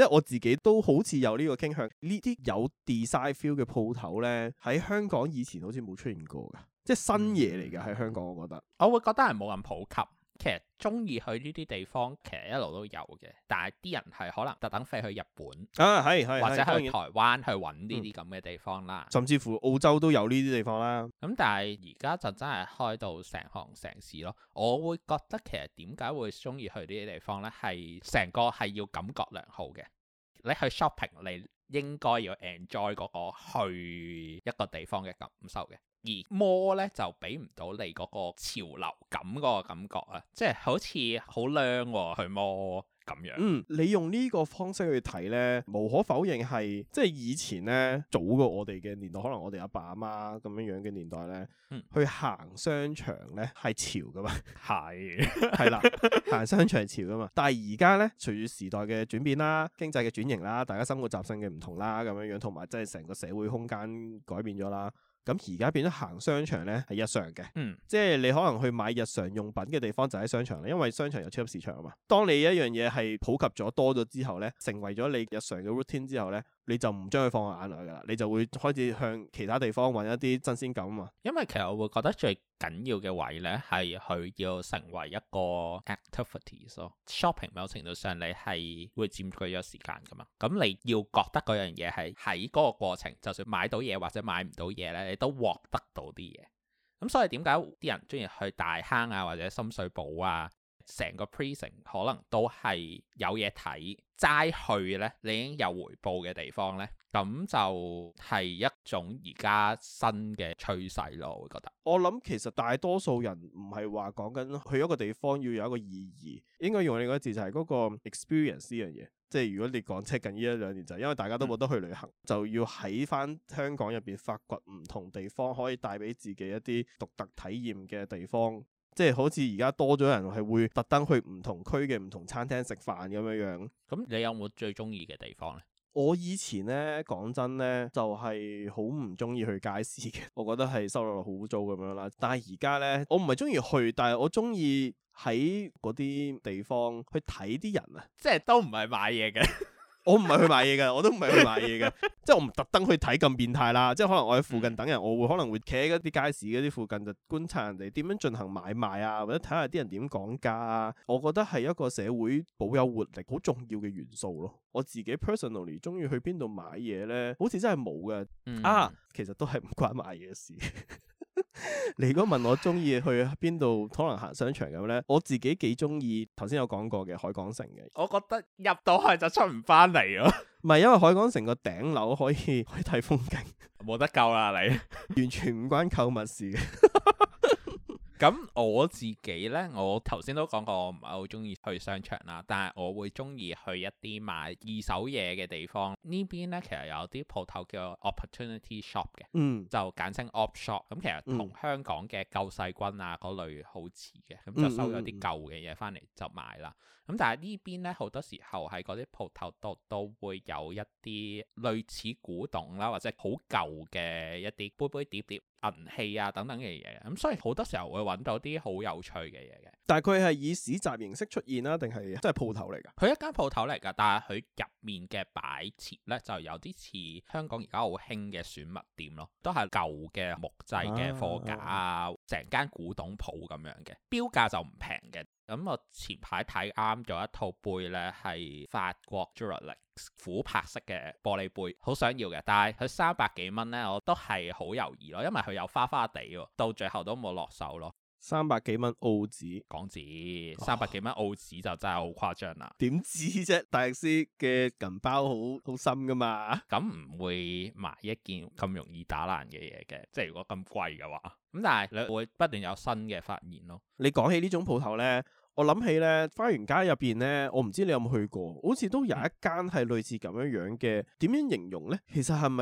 S2: 我自己都好似有呢個傾向，呢啲有 design feel 嘅鋪頭咧，喺香港以前好似冇出現過㗎，即係新嘢嚟㗎喺香港，我覺得。
S1: 我會覺得係冇咁普及。其實中意去呢啲地方，其實一路都有嘅，但係啲人係可能特登飛去日本
S2: 啊，
S1: 或者去台灣去揾呢啲咁嘅地方啦，
S2: 甚至乎澳洲都有呢啲地方啦。
S1: 咁但係而家就真係開到成行成市咯。我會覺得其實點解會中意去呢啲地方呢？係成個係要感覺良好嘅。你去 shopping，你應該要 enjoy 嗰個去一個地方嘅感受嘅。而 mall 咧就俾唔到你嗰個潮流感嗰個感覺啊，即係好似好靚喎去 mall 咁樣。
S2: 你用呢個方式去睇咧，無可否認係即係以前咧早過我哋嘅年代，可能我哋阿爸阿媽咁樣樣嘅年代咧，去行商場咧係潮噶嘛，係啦，行商場係潮噶嘛。但係而家咧，隨住時代嘅轉變啦、經濟嘅轉型啦、大家生活習性嘅唔同啦，咁樣樣同埋即係成個社會空間改變咗啦。咁而家變咗行商場咧係日常嘅，即係你可能去買日常用品嘅地方就喺商場啦，因為商場有超級市場啊嘛。當你一樣嘢係普及咗多咗之後咧，成為咗你日常嘅 routine 之後咧，你就唔將佢放喺眼內噶啦，你就會開始向其他地方揾一啲新鮮感啊嘛。
S1: 因為其實我會覺得最緊要嘅位咧係佢要成為一個 activities 咯。shopping 某程度上你係會佔據咗時間噶嘛，咁你要覺得嗰樣嘢係喺嗰個過程，就算買到嘢或者買唔到嘢咧，你都獲得到啲嘢。咁所以點解啲人中意去大坑啊或者深水埗啊？成個 precinct 可能都係有嘢睇，齋去呢，你已經有回報嘅地方呢，咁就係一種而家新嘅趨勢咯。我會覺得，
S2: 我諗其實大多數人唔係話講緊去一個地方要有一個意義，應該用你嗰個字就係嗰個 experience 呢樣嘢。即係如果你講近呢一兩年就係因為大家都冇得去旅行，就要喺翻香港入邊發掘唔同地方可以帶俾自己一啲獨特體驗嘅地方。即係好似而家多咗人係會特登去唔同區嘅唔同餐廳食飯咁樣樣。
S1: 咁你有冇最中意嘅地方呢？
S2: 我以前呢，講真呢，就係好唔中意去街市嘅，我覺得係收落好污糟咁樣啦。但係而家呢，我唔係中意去，但係我中意喺嗰啲地方去睇啲人啊，
S1: 即係都唔係買嘢嘅。
S2: 我唔係去買嘢嘅，我都唔係去買嘢嘅，即係我唔特登去睇咁變態啦。即係可能我喺附近等人，我會可能會企喺嗰啲街市嗰啲附近就觀察人哋點樣進行買賣啊，或者睇下啲人點講價啊。我覺得係一個社會保有活力好重要嘅元素咯。我自己 personally 中意去邊度買嘢咧，好似真係冇嘅。其實都係唔關買嘢事。你如果問我中意去邊度，可能行商場咁呢，我自己幾中意頭先有講過嘅海港城嘅。
S1: 我覺得入到去就出唔翻嚟咯。
S2: 唔係，因為海港城個頂樓可以睇風景，
S1: 冇得救啦你。
S2: 完全唔關購物事嘅。
S1: 咁我自己呢，我頭先都講過，我唔係好中意去商場啦，但係我會中意去一啲買二手嘢嘅地方。呢邊呢，其實有啲鋪頭叫 Opportunity Shop 嘅，就簡稱 Op Shop。咁其實同香港嘅救世軍啊嗰類好似嘅，咁就收咗啲舊嘅嘢翻嚟就買啦。咁但係呢邊呢，好多時候喺嗰啲鋪頭度都會有一啲類似古董啦，或者好舊嘅一啲杯杯碟碟、銀器啊等等嘅嘢。咁所以好多時候會揾到啲好有趣嘅嘢嘅。
S2: 但係佢係以市集形式出現啦，定係真係鋪頭嚟㗎？
S1: 佢一間鋪頭嚟㗎，但係佢入面嘅擺設呢，就有啲似香港而家好興嘅選物店咯，都係舊嘅木製嘅貨架啊，成間古董鋪咁樣嘅，標價就唔平嘅。咁我前排睇啱咗一套杯呢，係法國 Duralex 琥珀色嘅玻璃杯，好想要嘅，但係佢300幾蚊呢，我都係好猶豫咯，因為佢有花花地喎，到最後都冇落手咯。
S2: 300幾蚊澳紙，
S1: 港紙300幾蚊澳紙就真係好誇張啦。
S2: 點知啫？大律師嘅銀包好深噶嘛？
S1: 咁唔會買一件咁容易打爛嘅嘢嘅，即係如果咁貴嘅話。咁但係你會不斷有新嘅發現咯。
S2: 你講起呢種鋪頭呢，我諗起呢花園街入邊呢，我唔知你有冇去過，好似都有一間係類似咁樣樣嘅。點樣形容呢？其實係咪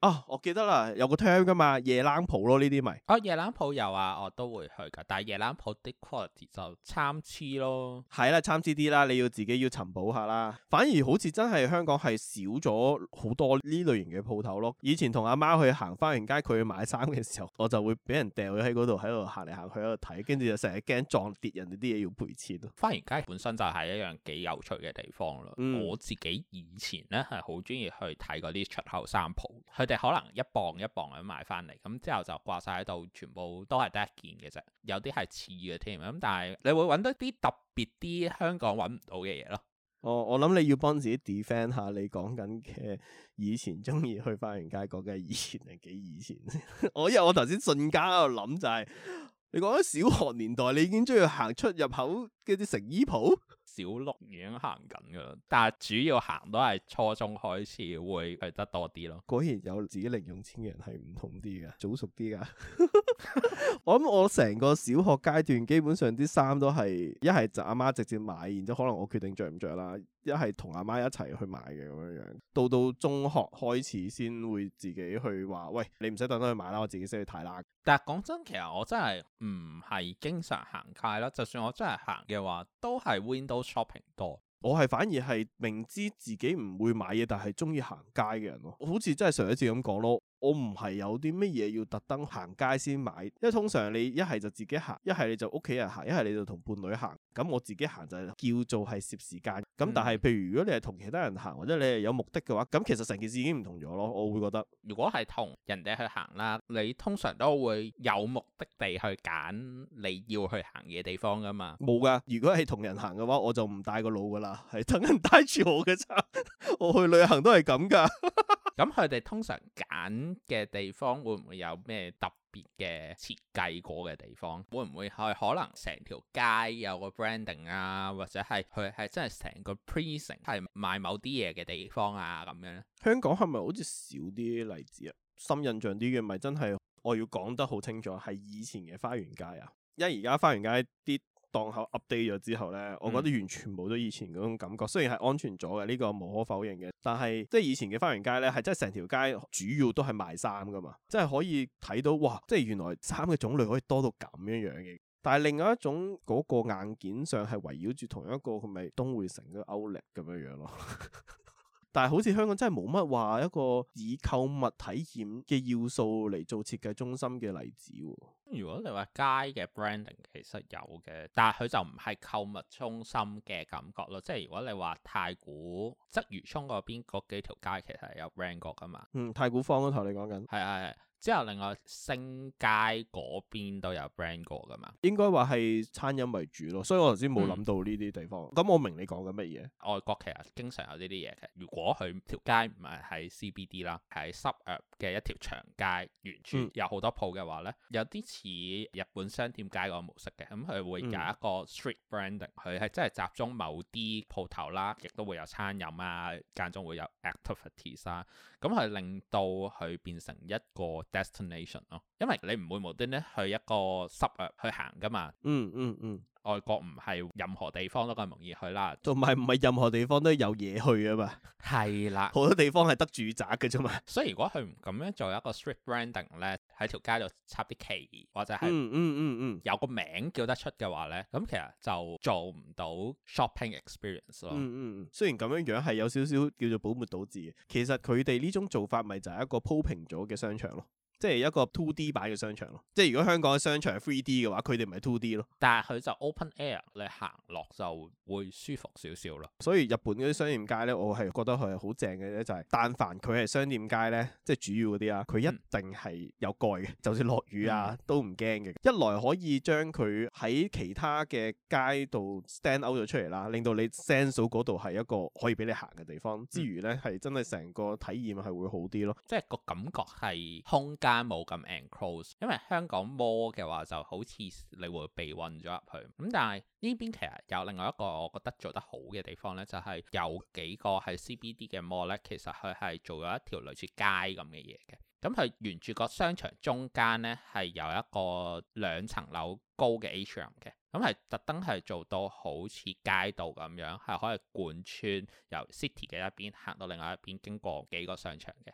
S2: 啊，我記得啦，有個 term 噶嘛，夜冷鋪咯，呢啲咪。
S1: 哦，夜冷鋪有啊，我都會去噶，但係夜冷鋪啲 quality 就參差咯。
S2: 係啦，參差啲啦，你要自己要尋寶下啦。反而好似真係香港係少咗好多呢類型嘅鋪頭咯。以前同阿媽去行花園街，佢去買衫嘅時候，我就會俾人掉咗喺嗰度，喺度行嚟行去喺度睇，跟住就成日驚撞跌人哋啲嘢要賠錢咯。
S1: 花園街本身就係一樣幾有趣嘅地方咯。我自己以前咧係好中意去睇嗰啲出口衫鋪，佢哋可能一磅一磅咁買翻嚟，咁之後就掛晒喺度，全部都係得一件嘅啫，有啲係似嘅添。咁但係你會揾到啲特別啲香港揾唔到嘅嘢咯。
S2: 我諗你要幫自己 defend 下你講緊嘅以前中意去花園街講嘅以前係幾以前？因為我頭先瞬間喺度諗就係、你講緊小學年代，你已經中意行出入口嗰啲成衣鋪。
S1: 小六已經行緊噶啦，但係主要行都係初中開始會去得多啲咯。
S2: 果然有自己零用錢嘅人係唔同啲噶，早熟啲噶。我諗我成個小學階段基本上啲衫都係一係就阿媽直接買，然之後可能我決定着唔着啦，一係同阿媽一齊去買嘅咁樣樣。到中學開始先會自己去話，喂，你唔使特登去買啦，我自己先去睇啦。
S1: 但係講真，其實我真係唔係經常行街啦，就算我真係行嘅話，都係 window shopping 多。
S2: 我係反而係明知自己唔會買嘢，但係中意行街嘅人咯。好似真係上一次咁講咯。我唔係有啲乜嘢要特登行街先買，因為通常你一係就自己行，一係你就屋企人行，一係你就同伴侶行。咁我自己行就叫做係攝時間。咁但係譬如如果你係同其他人行，或者你係有目的嘅話，咁其實成件事已經唔同咗咯。我會覺得，
S1: 如果係同人哋去行啦，你通常都會有目的地去揀你要去行嘅地方噶嘛。
S2: 冇噶，如果係同人行嘅話，我就唔帶個腦噶啦，係等人帶住我嘅咋。我去旅行都係咁噶。
S1: 咁佢哋通常揀嘅地方會唔會有咩特別嘅設計過嘅地方？會唔會係可能成條街有個 branding 啊，或者係佢係真係成個 precinct 係賣某啲嘢嘅地方啊咁樣咧？
S2: 香港係咪好似少啲例子啊？深印象啲嘅咪真係我要講得好清楚，係以前嘅花園街啊，因為而家花園街啲檔口 update 咗之後呢，我覺得完全冇咗以前嗰種感覺。雖然係安全咗嘅，呢個無可否認嘅，但係即係以前嘅花園街呢，係真係成條街主要都係賣衫噶嘛，即係可以睇到哇，即係原來衫嘅種類可以多到咁樣樣嘅。但係另外一種嗰個硬件上係圍繞住同一個，佢咪東匯城嘅歐力咁樣樣咯。但係好似香港真係冇乜話一個以購物體驗嘅要素嚟做設計中心嘅例子喎。
S1: 如果你話街嘅 branding 其實有嘅，但係佢就唔係購物中心嘅感覺咯。即係如果你話太古鰂魚涌嗰邊嗰幾條街其實係有 brand 過噶嘛。
S2: 太古坊嗰頭你講緊。
S1: 係。之後另外星街嗰邊都有 brand 過噶嘛。
S2: 應該話係餐飲為主咯，所以我頭先冇諗到呢啲地方。咁我明你講緊乜嘢。
S1: 外國其實經常有呢啲嘢嘅。如果佢條街唔係喺 CBD 啦，喺 suburb 嘅一條長街，完全有好多鋪嘅話呢，有啲似日本商店街嗰個模式嘅。咁佢會有一個 street branding，佢係真係集中某啲鋪頭啦，亦都會有餐飲啊，間中會有 activities 啊。咁係令到佢變成一個 destination 咯，因為你唔會無端端去一個 suburb 去行噶嘛。外國唔係任何地方都咁容易去啦，
S2: 同埋唔係任何地方都有嘢去啊嘛。
S1: 係啦，
S2: 好多地方係得住宅嘅啫嘛。
S1: 所以如果佢唔咁樣做一個 street branding 咧，喺條街度插啲旗或者係有個名叫得出嘅話咧，咁其實就做唔到 shopping experience 咯。
S2: 雖然咁樣樣係有少少叫做本末倒置嘅，其實佢哋呢種做法咪就係一個鋪平咗嘅商場咯。即係一個 2D 版嘅商場咯，即係如果香港嘅商場係 3D 嘅話，佢哋咪 2D 咯。但係佢就 open air，你行落就會舒服少少咯。所以日本嗰啲商店街咧，我係覺得佢係好正嘅咧，就係但凡佢係商店街咧，即係主要嗰啲啊，佢一定係有蓋嘅，就算落雨啊都唔驚嘅。一來可以將佢喺其他嘅街度 stand out 咗出嚟啦，令到你 sense 到嗰度係一個可以俾你行嘅地方，之餘咧係真係成個體驗係會好啲咯。即係個感覺係空間冇咁 enclose， 因為香港 mall 嘅話就好似你會被困咗入去。咁但係呢邊其實有另外一個我覺得做得好嘅地方呢，就係有幾個係 CBD 嘅 mall 呢，其實佢係做咗一條類似街咁嘅嘢嘅。咁佢沿住個商場中間呢，係有一個2層樓高嘅 atrium 嘅，咁係特登係做到好似街道咁樣，係可以貫穿由 city 嘅一邊行到另外一邊，經過幾個商場嘅。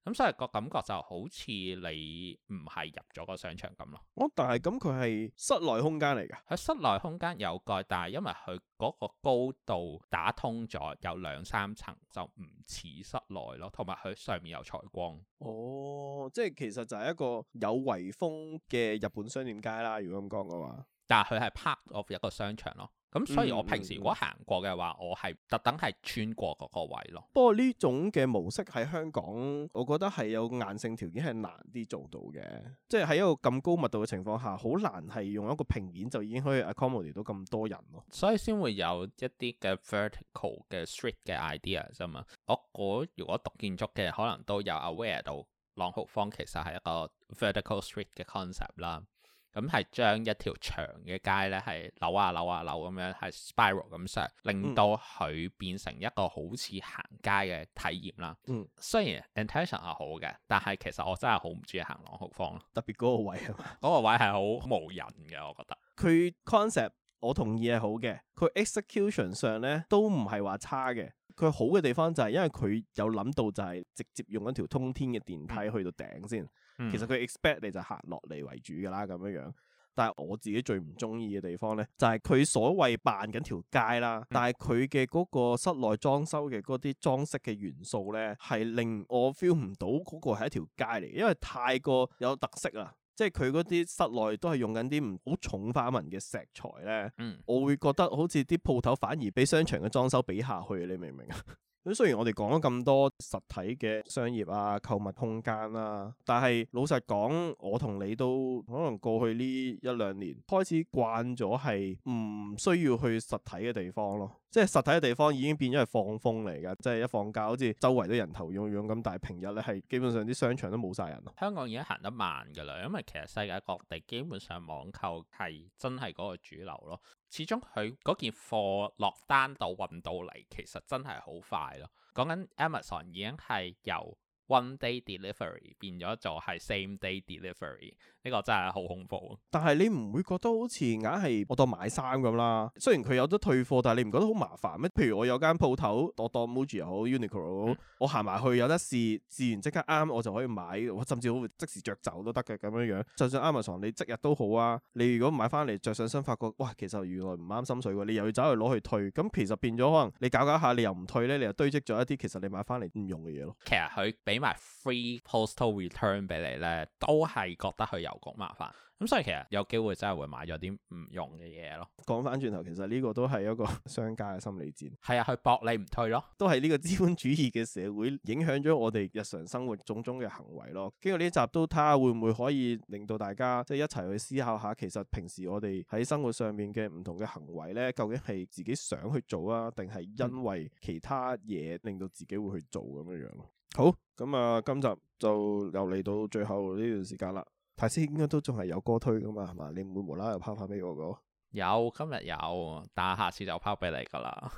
S1: 咁所以個感覺就好似你唔係入咗個商場咁咯。
S2: 但係咁佢係室內空間嚟㗎？
S1: 佢室內空間有蓋，但係因為佢嗰個高度打通咗，有2-3層，就唔似室內咯。同埋佢上面有採光。
S2: 即係其實就係一個有圍封嘅日本商店街啦。如果咁講嘅話，
S1: 但係佢係 part of 一個商場咯。咁所以我平時如果行過嘅話，我係特登係穿過嗰個位咯。
S2: 不過呢種嘅模式喺香港，我覺得係有硬性條件係難啲做到嘅。即係喺一個咁高密度嘅情況下，好難係用一個平面就已經可以 accommodate 到咁多人咯。所以
S1: 先會有一啲嘅 vertical 嘅 street 嘅 idea 啫嘛。我估如果讀建築嘅，可能都有 aware 到朗豪坊其實係一個 vertical street 嘅 concept 啦。咁係將一條長嘅街咧，係扭啊扭啊扭咁樣，係 spiral 咁上，令到佢變成一個好似行街嘅體驗啦。雖然 intention 係好嘅，但係其實我真係好唔中意行朗豪坊咯，
S2: 特別嗰個位係嘛？
S1: 嗰個位係好無人嘅，我覺得。
S2: 佢 concept 我同意係好嘅，佢 execution 上咧都唔係話差嘅。佢好嘅地方就係因為佢有諗到就係直接用一條通天嘅電梯去到頂先。其實佢 expect 你就行落嚟為主㗎啦，咁樣樣。但係我自己最唔中意嘅地方咧，就係佢所謂扮緊條街啦，但係佢嘅嗰個室內裝修嘅嗰啲裝飾嘅元素咧，係令我 feel 唔到嗰個係一條街嚟，因為太過有特色啦。即係佢嗰啲室內都係用緊啲唔好重花紋嘅石材咧，我會覺得好似啲鋪頭反而俾商場嘅裝修比下去，你明唔明啊？咁雖然我哋講咗咁多實體嘅商業啊、購物空間啦，但係老實講，我同你都可能過去呢1-2年開始慣咗係唔需要去實體嘅地方咯。即係實體嘅地方已經變咗係放風嚟㗎，即係一放假好似周圍都人頭湧湧咁，但係平日咧係基本上啲商場都冇晒人咯。香港已經行得慢㗎啦，因為其實世界各地基本上網購係真係嗰個主流咯。始終佢嗰件貨落單到運到嚟，其實真係好快咯。講緊 Amazon 已經係由 one day delivery 變咗做係 same day delivery，呢個真係好恐怖。但係你唔會覺得好似硬係我當買衫咁啦？雖然佢有得退貨，但係你唔覺得好麻煩咩？譬如我有間鋪頭，我當 Muji 又好 Uniqlo 好，我行埋去有得試完即刻啱，我就可以買，我甚至好即時着走都得嘅咁樣樣。就算 Amazon 你即日都好啊，你如果買翻嚟着上身，發覺哇，其實原來唔啱心水喎，你又要走去攞去退，咁其實變咗可能你搞下你又唔退咧，你又堆積咗一啲其實你買翻嚟唔用嘅嘢咯。其實佢俾埋 free postal return 俾你咧，都係覺得佢郵局麻煩。咁所以其實有機會真係會買咗啲唔用嘅嘢咯。講翻轉頭，其實呢個都係一個商家嘅心理戰。係啊，去搏你唔退咯。都係呢個資本主義嘅社會影響咗我哋日常生活種種嘅行為咯。經過呢集都睇下會唔會可以令到大家即係一齊去思考下，其實平時我哋喺生活上面嘅唔同嘅行為咧，究竟係自己想去做啊，定係因為其他嘢令到自己會去做咁樣樣咯。好，咁啊，今集就又嚟到最後呢段時間啦。泰斯應該都仲係有歌推噶嘛，係嘛？你唔會無啦啦又拋翻俾我個？有，今日有，但係下次就拋俾你噶啦。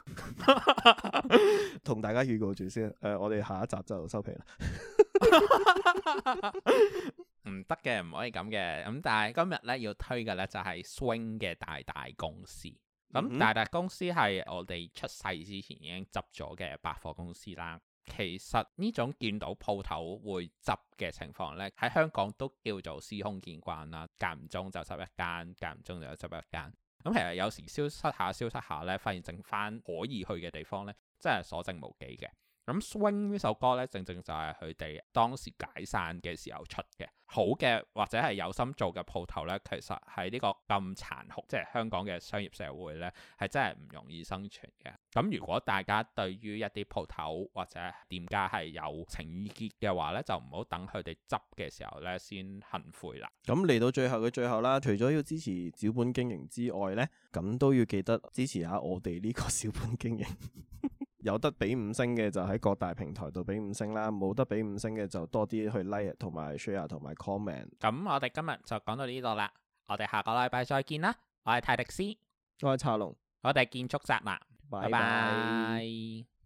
S2: 同大家預告住先，我哋下一集就收皮啦。唔得嘅，唔可以咁嘅。咁但係今日咧要推嘅咧就係 Swing 嘅大大公司。咁大大公司係我哋出世之前已經執咗嘅百貨公司啦。其實呢種見到鋪頭會執嘅情況呢，喺香港都叫做司空見慣啦。間唔中就執一間，間唔中就執一間。咁其實有時消失下呢，發現剩翻可以去嘅地方呢，真係所剩無幾嘅。咁 Swing 呢首歌呢，正正就係佢哋當時解散嘅時候出嘅。好嘅或者係有心做嘅鋪頭呢，其實喺呢個咁殘酷，即係香港嘅商業社會呢，係真係唔容易生存嘅。咁如果大家對於一啲鋪頭或者店家係有情意結嘅話呢，就唔好等佢哋執嘅時候呢先恨悔啦。咁嚟到最後嘅最後啦，除咗要支持小本經營之外呢，咁都要記得支持下我哋呢個小本經營。有得俾5星嘅就喺各大平台度俾5星啦，冇得俾5星嘅就多啲去 like 同埋 share 同埋 comment。咁我哋今日就講到呢度啦，我哋下個禮拜再見啦。我係泰迪斯，我係茶龍，我哋建築宅男，拜拜。